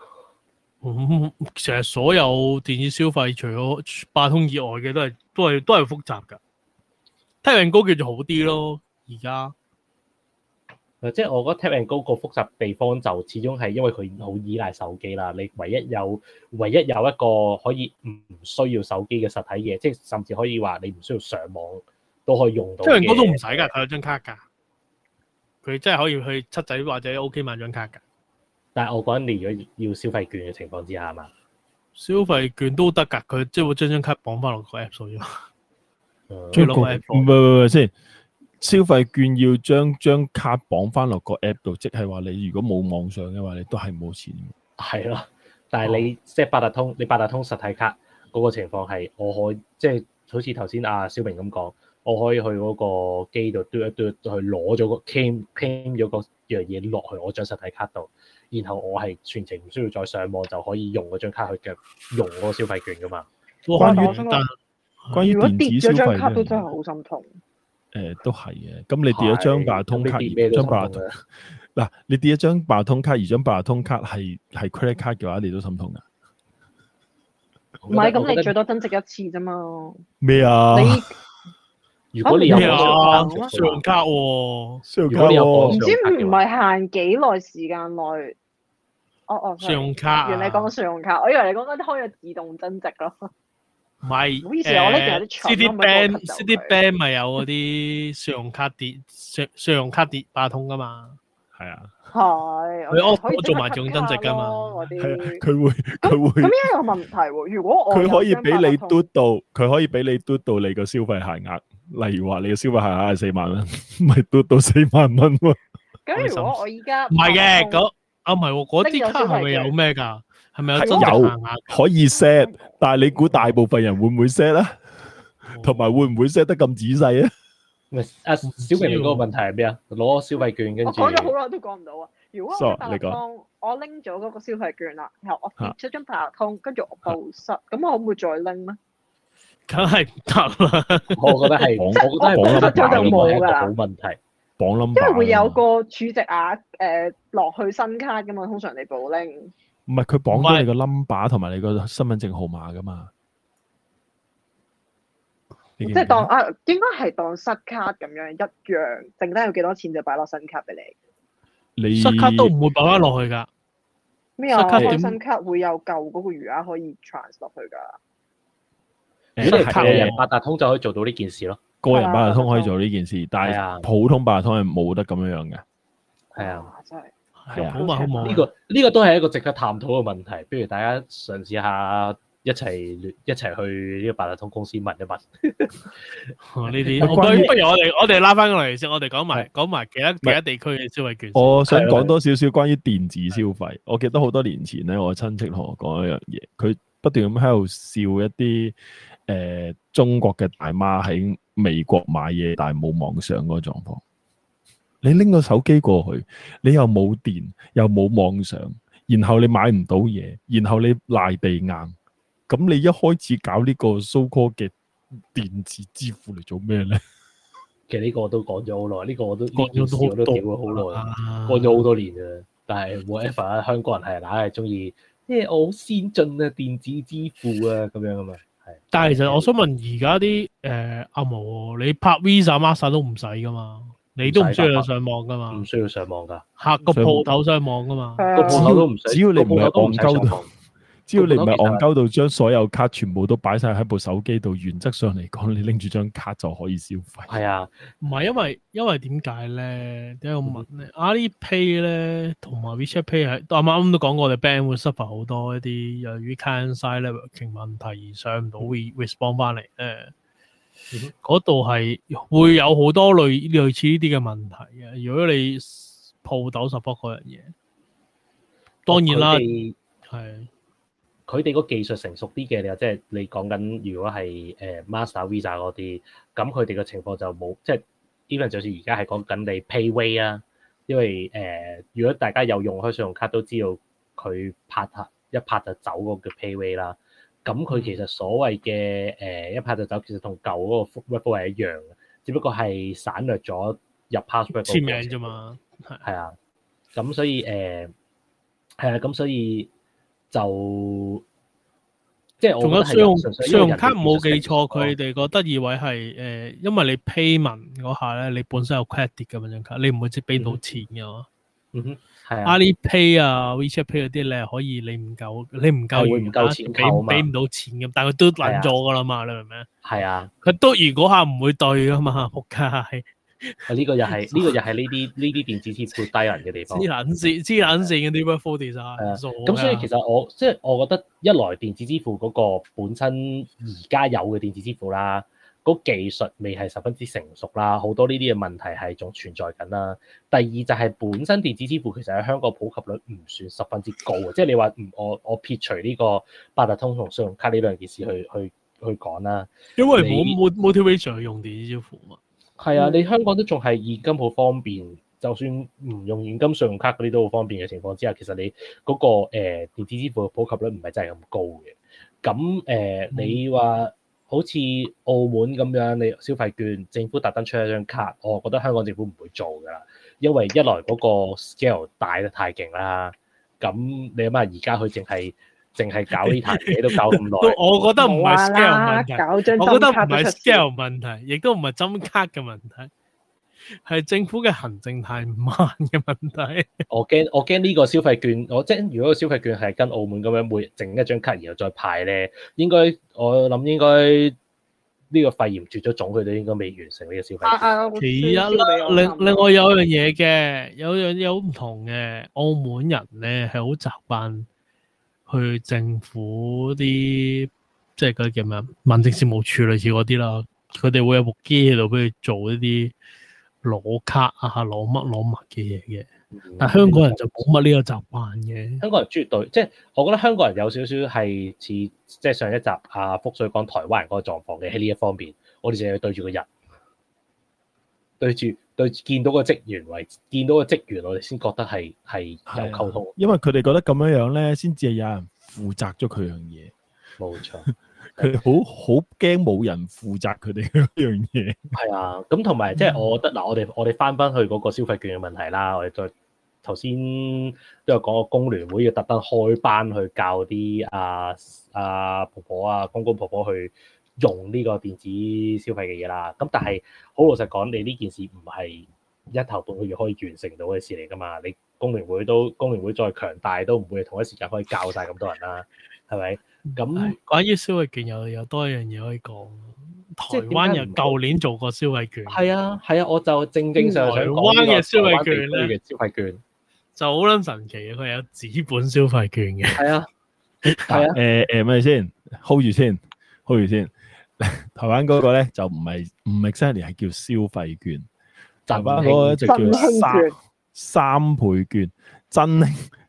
其實所有電子消費除咗八通以外嘅都係複雜㗎。Tap and Go 叫做好啲咯，而家即係我覺得 Tap and Go 個複雜地方就始終係因為佢好依賴手機啦。你唯一有一個可以唔需要手機嘅實體嘢，即係甚至可以話你唔需要上網都可以用到。Tap and Go 都唔使㗎，佢有張卡㗎，佢真係可以去七仔或者 OK 買張卡㗎。 但係我講你如果要消費券嘅情況之下嘛， 消費券都得㗎，佢即係會將張卡綁翻落個 app 度啫嘛。 最攞 app 唔係先，消費券要將張卡綁翻落個 app 度，即係話你如果冇網上嘅話，你都係冇錢。 係咯，但係你即係八達通，你八達通實體卡嗰個情況係，我可以即係好似頭先阿小明咁講，我可以去嗰個機度嘟一嘟去攞咗個 claim 咗個樣嘢落去我張實體卡度，然後我係全程唔需要再上網就可以用嗰張卡去嘅用嗰個消費券噶嘛。 關於電子消費張卡都真係好心痛。 都係嘅。咁你跌咗張八達通卡，張八達通嗱，你跌咗張八達通卡，而張八達通卡係 credit card 嘅話，你都心痛噶。 唔係，咁你最多增值一次啫嘛。 咩啊？ 如果你有信用卡喎， 信用卡唔知唔係限幾耐時間內。 信用卡。 原來你講信用卡，我以為你講緊開咗自動增值咯。 唔係， 唔好意思，我呢邊有啲長。 Citibank 咪有嗰啲信用卡跌八達通噶嘛？ 係啊。 係。 我做埋自動增值噶嘛？ 係啊，佢會。咁依家有問題喎，如果我佢可以俾你嘟到，佢可以俾你嘟到你個消費限額。例如話你嘅消費限額係4萬蚊，咪嘟到4萬蚊喎。 咁如果我依家唔係嘅，唔係喎，嗰啲卡係咪有咩㗎？係咪有增值限額？ 可以 set， 但係你估大部分人會唔會 set 咧？同埋會唔會 set 得咁仔細啊？ 小明嗰個問題係咩啊？攞消費券跟住。 我講咗好耐都講唔到啊！如果我八達通，我拎咗嗰個消費券啦，然後我跌咗張八達通，跟住我報失，咁我可唔可以再拎咧？ 梗係唔得啦！ 我覺得係，我覺得係報失咗就冇㗎啦。 冇問題， 綁 number， 因為會有個儲值額落去新卡㗎嘛，通常你補拎。 唔係佢綁咗你個 number 同埋你個身份證號碼㗎嘛？ 即係當應該係當失卡咁樣一樣，剩低有幾多錢就擺落新卡俾你。 失卡都唔會擺翻落去㗎。 咩啊？新卡會有舊嗰個餘額可以 trans 落去㗎。 如果你係個人八達通就可以做到呢件事咯。 個人八達通可以做呢件事，但係普通八達通係冇得咁樣嘅。 係啊， 真係。 係啊，好嘛好嘛。 呢個都係一個值得探討嘅問題。不如大家嘗試下一齊去呢個八達通公司問一問。 呢啲不如我哋拉翻過嚟先，我哋講埋其他地區嘅消費券。 我想講多少少關於電子消費。我記得好多年前咧，我親戚同我講一樣嘢，佢不斷咁喺度笑一啲中國嘅大媽喺美國買嘢，但係冇網上嗰個狀況。你拎個手機過去，你又冇電，又冇網上，然後你買唔到嘢，然後你賴地硬，咁你一開始搞呢個 so-called 嘅電子支付嚟做咩咧？ 其實呢個我都講咗好耐，呢個我都講咗我都屌咗好耐，講咗好多年㗎。但係 whatever 香港人係硬係中意，即係我好先進啊，電子支付啊咁樣啊嘛。係。 但係其實我想問，而家啲阿毛，你拍 Visa、Master 都唔使噶嘛？你都唔需要上網噶嘛？ 唔需要上網㗎， 客個鋪頭上網噶嘛？ 個鋪頭都唔使， 只要你唔係戇鳩到，只要你唔係戇鳩到將所有卡全部都擺晒喺部手機度，原則上嚟講，你拎住張卡就可以消費。 係啊， 唔係因為點解咧？點解我問咧？Alipay 咧同埋 WeChat Pay 係啱啱都講過，我哋 band 會 suffer 好多一啲由於 client-side networking 問題而上唔到 respond 翻嚟咧。嗰度係會有好多類似呢啲嘅問題嘅。如果你鋪頭 support 嗰樣嘢，當然啦，係佢哋個技術成熟啲嘅，即係你講緊如果係Master Visa 嗰啲，咁佢哋嘅情況就冇，即係 even 就算而家係講緊你 PayWay 啊，因為如果大家有用開信用卡都知道佢一拍就走嗰個叫 PayWay 啦。咁佢其實所謂嘅一拍就走，其實同舊嗰個 workflow 係一樣嘅，只不過係省略咗入 password 簽名啫嘛。 係啊，咁所以係啊，咁所以就即係我仲有信用卡冇記錯，佢哋個得意位係因為你 payment 嗰下咧，你本身有 credit 嘅張卡，你唔會即係俾到錢嘅嘛。 係啊。 Alipay 啊 ，WeChat Pay 嗰啲咧，可以你唔夠唔夠錢扣俾唔到錢咁，但係佢都撚咗噶啦嘛，你明唔明？ 係啊， 佢都如果下唔會對噶嘛，仆街。 呢個又係呢啲電子支付低人嘅地方。黐撚線嘅啲 workflow design。 係啊，咁所以其實我覺得一來電子支付嗰個本身而家有嘅電子支付啦。嗰技術未係十分之成熟啦，好多呢啲嘅問題係仲存在緊啦。第二就係本身電子支付其實喺香港普及率唔算十分之高嘅，即係你話我撇除呢個八達通同信用卡呢兩件事去講啦。 因為冇 motivation 去用電子支付嘛。 係啊，你香港都仲係現金好方便，就算唔用現金信用卡嗰啲都好方便嘅情況之下，其實你嗰個電子支付嘅普及率唔係真係咁高嘅。咁你話，好似澳門咁樣，你消費券政府特登出一張卡，我覺得香港政府唔會做㗎啦，因為一來嗰個 scale 大得太勁啦，咁你諗下而家佢淨係搞呢壇嘢都搞咁耐， 我覺得唔係 scale 問題，我覺得唔係 scale 問題，亦都唔係針卡嘅問題，係政府嘅行政太慢嘅問題。我驚呢個消費券，即係如果個消費券係跟澳門咁樣每整一張卡然後再派咧，我諗應該呢個肺炎絕咗種，佢哋應該未完成呢個消費券。 其一啦，另外有樣嘢嘅，有樣嘢好唔同嘅，澳門人咧係好習慣去政府啲即係嗰啲叫咩民政事務處類似嗰啲啦，佢哋會有部機喺度俾佢做一啲攞卡啊，攞乜嘅嘢嘅，但係香港人就冇乜呢個習慣嘅。 香港人絕對，即係我覺得香港人有少少係似即係上一集阿福水講台灣人嗰個狀況嘅喺呢一方面，我哋淨係對住個人，對見到個職員見到個職員，我哋先覺得係有溝通， 因為佢哋覺得咁樣咧，先至係有人負責咗佢樣嘢。 冇錯。 佢哋好驚冇人負責佢哋嗰樣嘢。 係啊，咁同埋即係我覺得嗱，我哋翻去嗰個消費券嘅問題啦，我哋再頭先都有講過工聯會要特登開班去教啲婆婆啊公公婆婆去用呢個電子消費嘅嘢啦。咁但係好老實講，你呢件事唔係一頭半個月可以完成到嘅事嚟噶嘛？你工聯會再強大都唔會同一時間可以教晒咁多人啦，係咪？咁關於消費券有多一樣嘢可以講，台灣人舊年做過消費券， 係啊，我就正想講台灣嘅消費券咧，消費券就好撚神奇嘅，佢有紙本消費券嘅。 係啊， 咪先 hold 住先。台灣嗰個咧就唔係exactly係叫消費券，台灣嗰個就叫三倍券，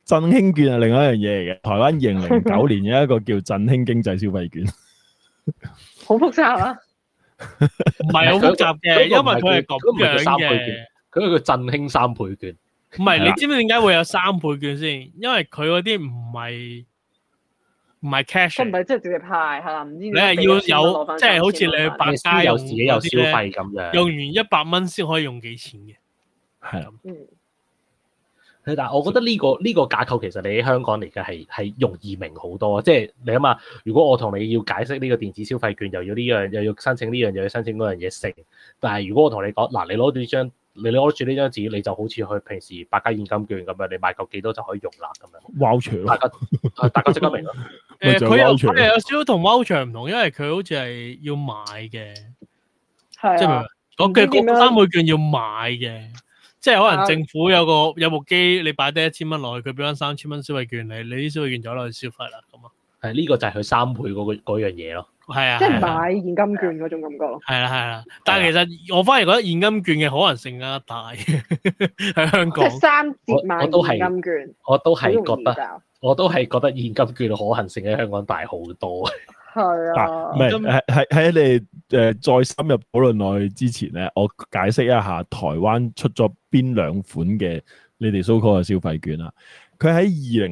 振興券係另外一樣嘢嚟嘅。台灣2009年有一個叫振興經濟消費券， 好複雜啊！ 唔係好複雜嘅，因為佢係咁樣嘅。 佢係叫振興3倍券。 唔係，你知唔知點解會有3倍券先？因為佢嗰啲唔係 cash， 佢唔係即係直接派，係啦，唔知你係要有，即係好似你去百佳有自己有消費咁樣， 用完100蚊先可以用幾錢嘅， 係啦。 但係我覺得呢個架構其實你喺香港嚟嘅係容易明好多，即係你諗下，如果我同你要解釋呢個電子消費券，又要呢樣又要申請呢樣又要申請嗰樣嘢成，但係如果我同你講嗱，你攞住呢張紙，你就好似去平時百佳現金券咁樣，你買夠幾多就可以用啦咁樣。 voucher 大家即刻明咯。 佢有少少同 voucher 唔同，因為佢好似係要買嘅，即係講嘅嗰3倍券要買嘅。即係可能政府有部機，你擺低1000蚊落去，佢俾翻3000蚊消費券你啲消費券就攞去消費啦，咁啊。係呢個就係佢3倍嗰樣嘢咯。係啊， 即係買現金券嗰種感覺咯。 係啦，但係其實我反而覺得現金券嘅可能性更加大喺香港。 即係3折買現金券， 我都係覺得現金券嘅可行性喺香港大好多。 係啊， 唔係喺你再深入討論落去之前咧，我解釋一下台灣出咗邊2款嘅你哋 so-called 嘅消費券啦。佢喺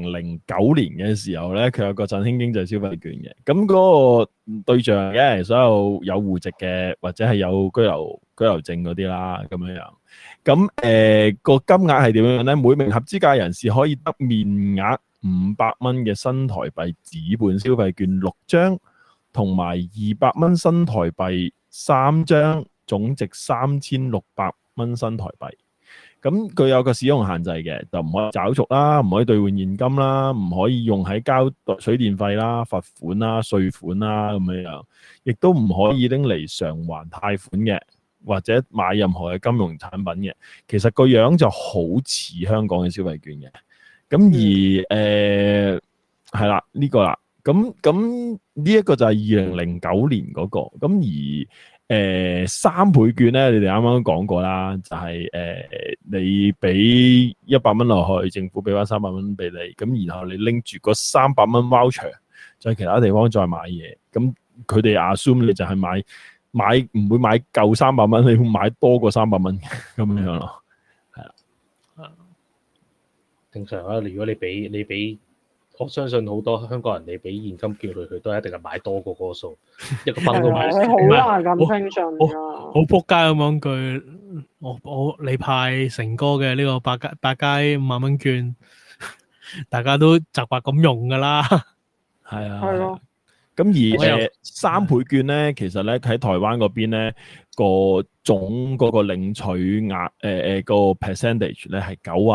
2009年嘅時候咧，佢有個振興經濟消費券嘅。咁嗰個對象嘅所有有戶籍嘅或者係有居留證嗰啲啦，咁樣樣。咁個金額係點樣咧？每名合資格人士可以得面額500蚊嘅新台幣紙本消費券6張。同埋200蚊新台幣3張，總值3600蚊新台幣。咁佢有個使用限制嘅，就唔可以找續啦，唔可以兌換現金啦，唔可以用喺交水電費啦、罰款啦、稅款啦咁樣，亦都唔可以拎嚟償還貸款嘅，或者買任何嘅金融產品嘅。其實個樣就好似香港嘅消費券嘅。咁而係啦，呢個啦。咁呢一個就係2009年嗰個，咁而3倍券咧，你哋啱啱講過啦，就係你俾100蚊落去，政府俾翻300蚊俾你，咁然後你拎住嗰300蚊 voucher，在其他地方再買嘢，咁佢哋 assume 你就係買唔會買夠300蚊，你會買多過300蚊咁樣咯，係啦， 正常啊。如果你俾我相信好多香港人，你俾現金叫佢都一定係買多過嗰個數，一個分都買。 好難咁相信㗎。 好仆街咁講句，你派成哥嘅呢個百佳5萬蚊券，大家都習慣咁用㗎啦。 係啊。 係咯。 咁而3倍券咧，其實咧喺台灣嗰邊咧個總嗰個領取額個 percentage 咧係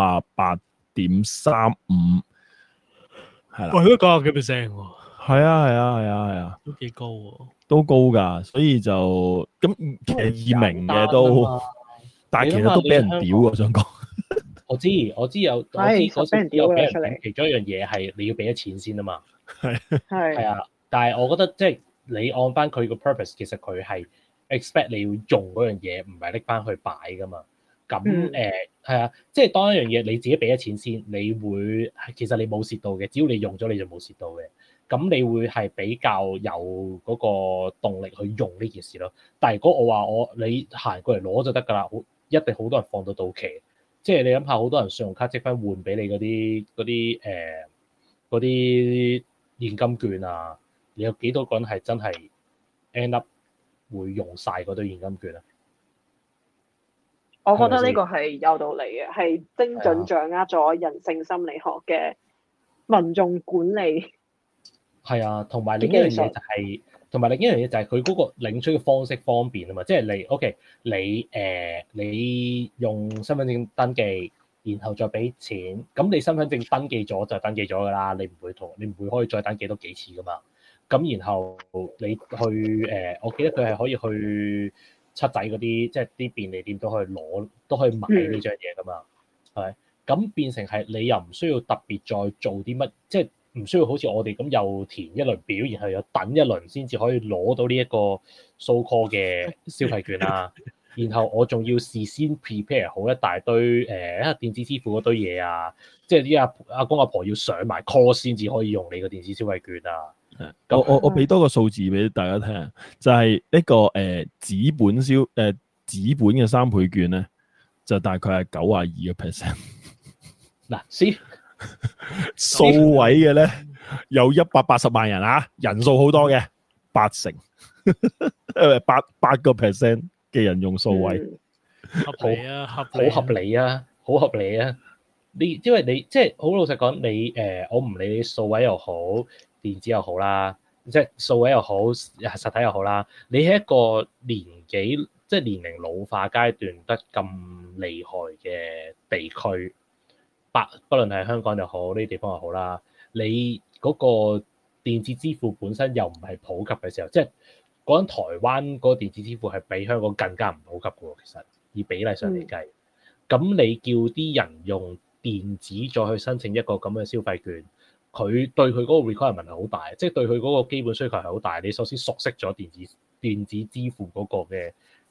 98.35%。係啦， 喂，都90幾%喎。 係啊， 都幾高喎， 都高噶，所以就咁其實易明嘅都，但係其實都俾人屌，我想講。 我知有俾人屌嘅出嚟。其中一樣嘢係你要俾咗錢先啊嘛。係啊，但係我覺得即係你按翻佢個 purpose，其實佢係 expect 你要用嗰樣嘢，唔係拎翻去擺噶嘛。咁係啊，即係當一樣嘢你自己俾咗錢先，你會其實你冇蝕到嘅，只要你用咗你就冇蝕到嘅。咁你會係比較有嗰個動力去用呢件事咯。但係如果我話你行過嚟攞就得㗎啦，一定好多人放到期。即係你諗下，好多人信用卡積分換俾你嗰啲現金券啊，你有幾多個人係真係 end up 會用晒嗰堆現金券啊？ 我覺得呢個係有道理嘅，係精準掌握咗人性心理學嘅民眾管理。係啊，同埋另一樣嘢就係佢嗰個領取嘅方式方便啊嘛，即係你 OK，你用身份證登記，然後再俾錢，咁你身份證登記咗就登記咗㗎啦，你唔會可以再登記多幾次㗎嘛。咁然後你去我記得佢係可以去七仔嗰啲，即係啲便利店都可以買呢張嘢㗎嘛，係咪？咁變成係你又唔需要特別再做啲乜，即係唔需要好似我哋咁又填一輪表，然後又等一輪先至可以攞到呢一個 so-called 嘅消費券啦。 然後我仲要事先 prepare 好一大堆電子支付嗰堆嘢啊，即係啲阿公阿婆要上埋 course 先至可以用你個電子消費券啊。 我俾多個數字俾大家聽，就係呢個紙本嘅3倍券咧，就大概係92%。 嗱，先數位嘅咧有180萬人啊，人數好多嘅，8%，8%嘅人用數位， 合理啊， 好合理啊，好合理啊！因為你即係好老實講，你我唔理你數位又好，電子又好啦，即係數位又好，實體又好啦，你喺一個年紀即係年齡老化階段得咁厲害嘅地區，不論係香港又好，呢啲地方又好啦，你嗰個電子支付本身又唔係普及嘅時候，即係講緊台灣嗰個電子支付係比香港更加唔普及嘅喎，其實以比例上嚟計，咁你叫啲人用電子再去申請一個咁嘅消費券，佢對佢嗰個 requirement 係好大，即係對佢嗰個基本需求係好大。你首先熟悉咗電子支付嗰個嘅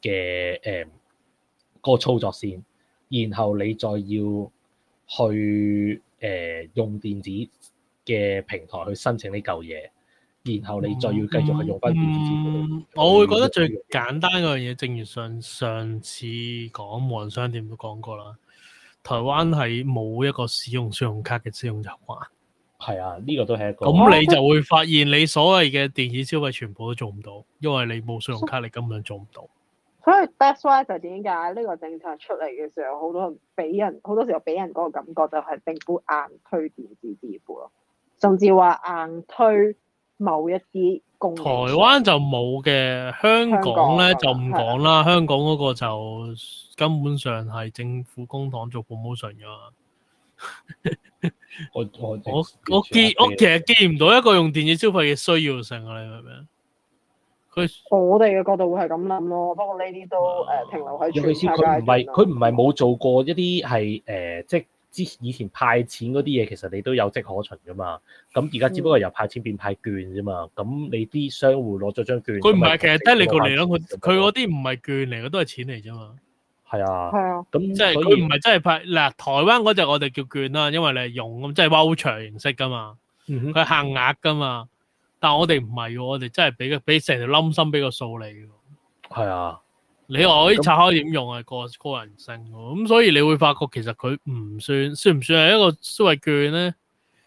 嗰個操作先，然後你再要去用電子嘅平台去申請呢嚿嘢，然後你再要繼續去用翻電子支付。 我會覺得最簡單嗰樣嘢，正如上次講無人商店都講過啦，台灣係冇一個使用信用卡嘅使用習慣。係啊，呢個都係一個。 咁你就會發現你所謂嘅電子消費全部都做唔到，因為你冇信用卡，你根本做唔到。 所以 that's why 就點解呢個政策出嚟嘅時候，好多時候俾人嗰個感覺就係政府硬推電子支付咯，甚至話硬推某一啲公。台灣就冇嘅，香港咧就唔講啦。香港嗰個就根本上係政府公帑做 promotion 㗎嘛。我其實見唔到一個用電子消費嘅需要性啊！你明唔明？ 我哋嘅角度會係咁諗咯，不過呢啲都停留喺尤其是佢唔係冇做過一啲係即係以前派錢嗰啲嘢，其實你都有跡可循噶嘛。咁而家只不過由派錢變派券啫嘛。咁你啲商戶攞咗張券， 佢唔係其實得你個嚟咯。佢嗰啲唔係券嚟嘅，都係錢嚟啫嘛。 係啊， 係啊。 咁即係佢唔係真係派嗱，台灣嗰隻我哋叫券啦，因為你係用咁即係 voucher 形式噶嘛。佢係限額噶嘛。但係我哋唔係喎，我哋真係俾成條冧心俾個數你喎。 係啊， 你話可以拆開點用係個人性喎。咁所以你會發覺其實佢算唔算係一個消費券咧？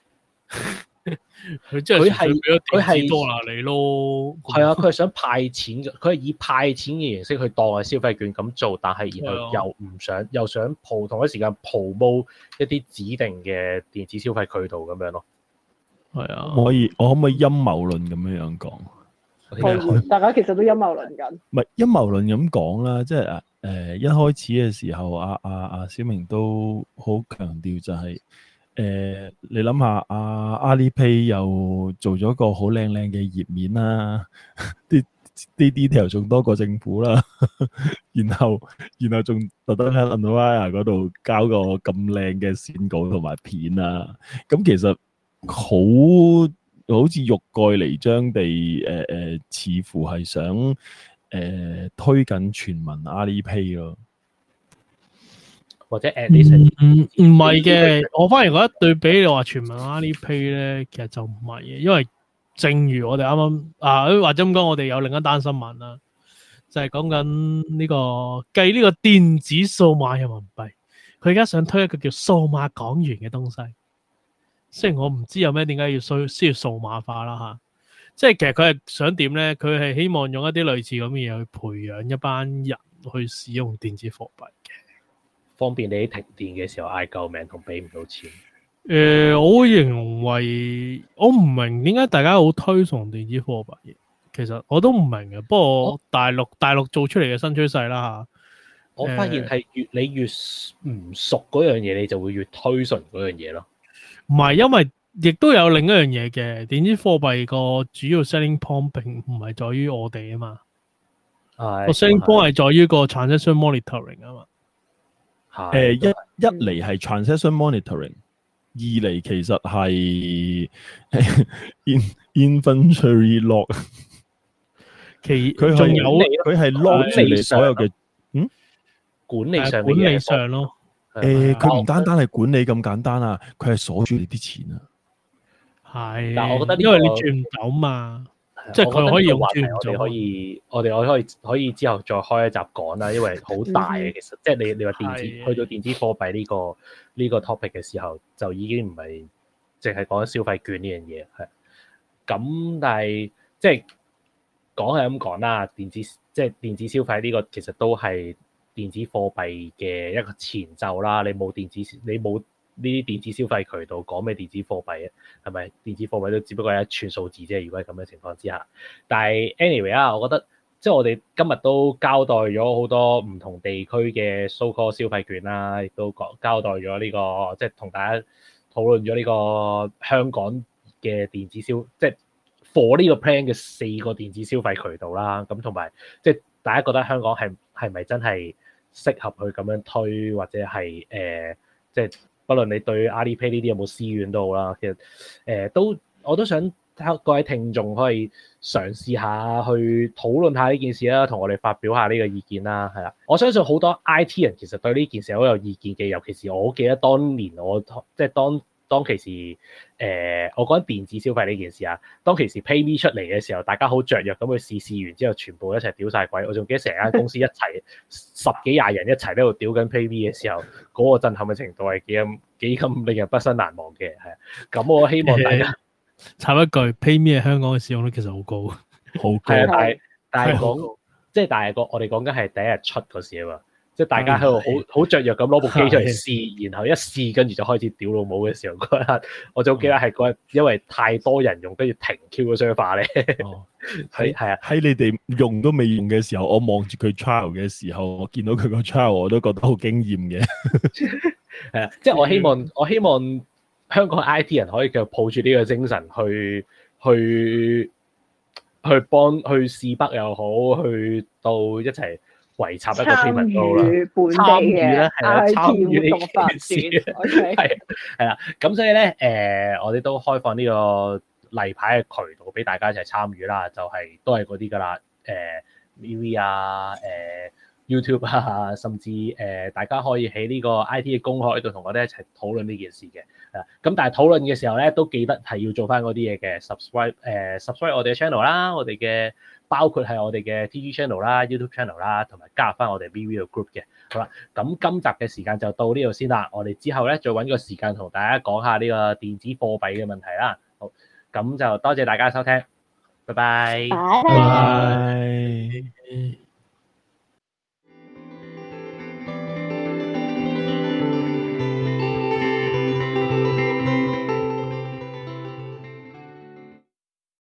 佢真係佢係多啦你咯。 係啊，佢係想派錢，佢係以派錢嘅形式去當係消費券咁做，但係然後又想同一時間 promote 一啲指定嘅電子消費渠道咁樣咯。 係啊， 我可唔可以陰謀論咁樣講？ 大家其實都陰謀論緊。 唔係陰謀論咁講啦，即係一開始嘅時候，阿小明都好強調就係你諗下阿里 Pay 又做咗個好靚靚嘅頁面啦，啲 detail 仲多過政府啦，然後仲特登喺 Unwire 嗰度交個咁靚嘅線稿同埋片啦，咁其實好似欲蓋彌彰地似乎係想推緊全民阿里 Pay 咯， 或者 at least 唔係嘅，我反而覺得對比你話全民阿里 Pay 咧，其實就唔係嘅，因為正如我哋啱啱或者咁講，我哋有另一單新聞啦，就係講緊呢個計呢個電子數碼人民幣，佢而家想推一個叫數碼港元嘅東西。雖然我唔知有咩點解需要數碼化啦嚇，即係其實佢係想點咧？佢係希望用一啲類似咁嘅嘢去培養一班人去使用電子貨幣嘅，方便你喺停電嘅時候嗌救命同俾唔到錢。 我會認為我唔明點解大家好推崇電子貨幣嘅，其實我都唔明嘅。不過大陸做出嚟嘅新趨勢啦嚇， 我發現係你越唔熟嗰樣嘢，你就會越推崇嗰樣嘢咯。 唔係，因為亦都有另一樣嘢嘅，電子貨幣個主要 selling point 並唔係在於我哋啊嘛，個 selling point 係在於個 transaction monitoring 啊嘛。 一嚟係 transaction monitoring， 二嚟其實係 inventory log， 佢係 log 住你所有嘅管理上管理上咯。 佢唔單單係管理咁簡單啊，佢係鎖住你啲錢啊。 係， 但我覺得因為你轉唔到嘛，即係佢可以用轉唔到。 我哋可以之後再開一集講啦，因為好大嘅其實，即係你話電子去到電子貨幣呢個 topic 嘅時候，就已經唔係淨係講消費券呢樣嘢係。咁但係即係講係咁講啦，電子消費呢個其實都係電子貨幣嘅一個前奏啦。你冇呢啲電子消費渠道，講咩電子貨幣啊？係咪電子貨幣都只不過係一串數字啫？如果係咁嘅情況之下，但係 anyway 啊，我覺得即係我哋今日都交代咗好多唔同地區嘅 so-called 消費券啦，亦都交代咗呢個即係同大家討論咗呢個香港嘅電子即係 for 呢個 plan 嘅4個電子消費渠道啦。咁同埋即係大家覺得香港係咪真係適合去咁樣推，或者係即係不論你對 Alipay 呢啲有冇私怨都好啦，其實我都想各位聽眾可以嘗試下去討論下呢件事啦，同我哋發表下呢個意見啦，係啦。我相信好多 IT 人其實對呢件事好有意見嘅，尤其是我記得當年我即係當其時我講電子消費呢件事啊，當其時 PayMe 出嚟嘅時候，大家好雀躍咁去試完之後，全部一齊屌晒鬼。我仲記得成間公司一齊10幾20人一齊喺度屌緊 PayMe 嘅時候，嗰個震撼嘅程度係幾咁令人畢生難忘嘅，係啊。咁我希望大家插一句，PayMe 喺香港嘅使用率其實好高， 好高。 係啊，但係我哋講緊係第一日出嗰時啊嘛。即係大家喺度好雀躍咁攞部機出嚟試，然後一試跟住就開始屌老母嘅時候嗰日，我就記得係嗰日，因為太多人用，跟住停 Q 個 server 咧。係啊， 喺你哋用都未用嘅時候，我望住佢 trial 嘅時候，我見到佢個 trial 我都覺得好驚豔嘅。 係啊，即係我希望香港 IT 人可以繼續抱住呢個精神去試北又好，去到一齊圍插一個 payment 度啦，參與咧係啦，參與呢件事係啦，咁所以咧我哋都開放呢個例牌嘅渠道俾大家一齊參與啦，就係都係嗰啲噶啦，MeWe 啊YouTube 啊，甚至大家可以喺呢個 IT 嘅公開度同我哋一齊討論呢件事嘅，咁但係討論嘅時候咧，都記得係要做翻嗰啲嘢嘅 subscribe 我哋嘅 channel 啦，我哋嘅包括係我哋嘅 TG channel 啦、YouTube channel 啦，同埋加入翻我哋 VV 嘅 group 嘅。好啦，咁今集嘅時間就到呢度先啦，我哋之後咧再揾個時間同大家講下呢個電子貨幣嘅問題啦。好，咁就多謝大家收聽，拜拜。 拜拜。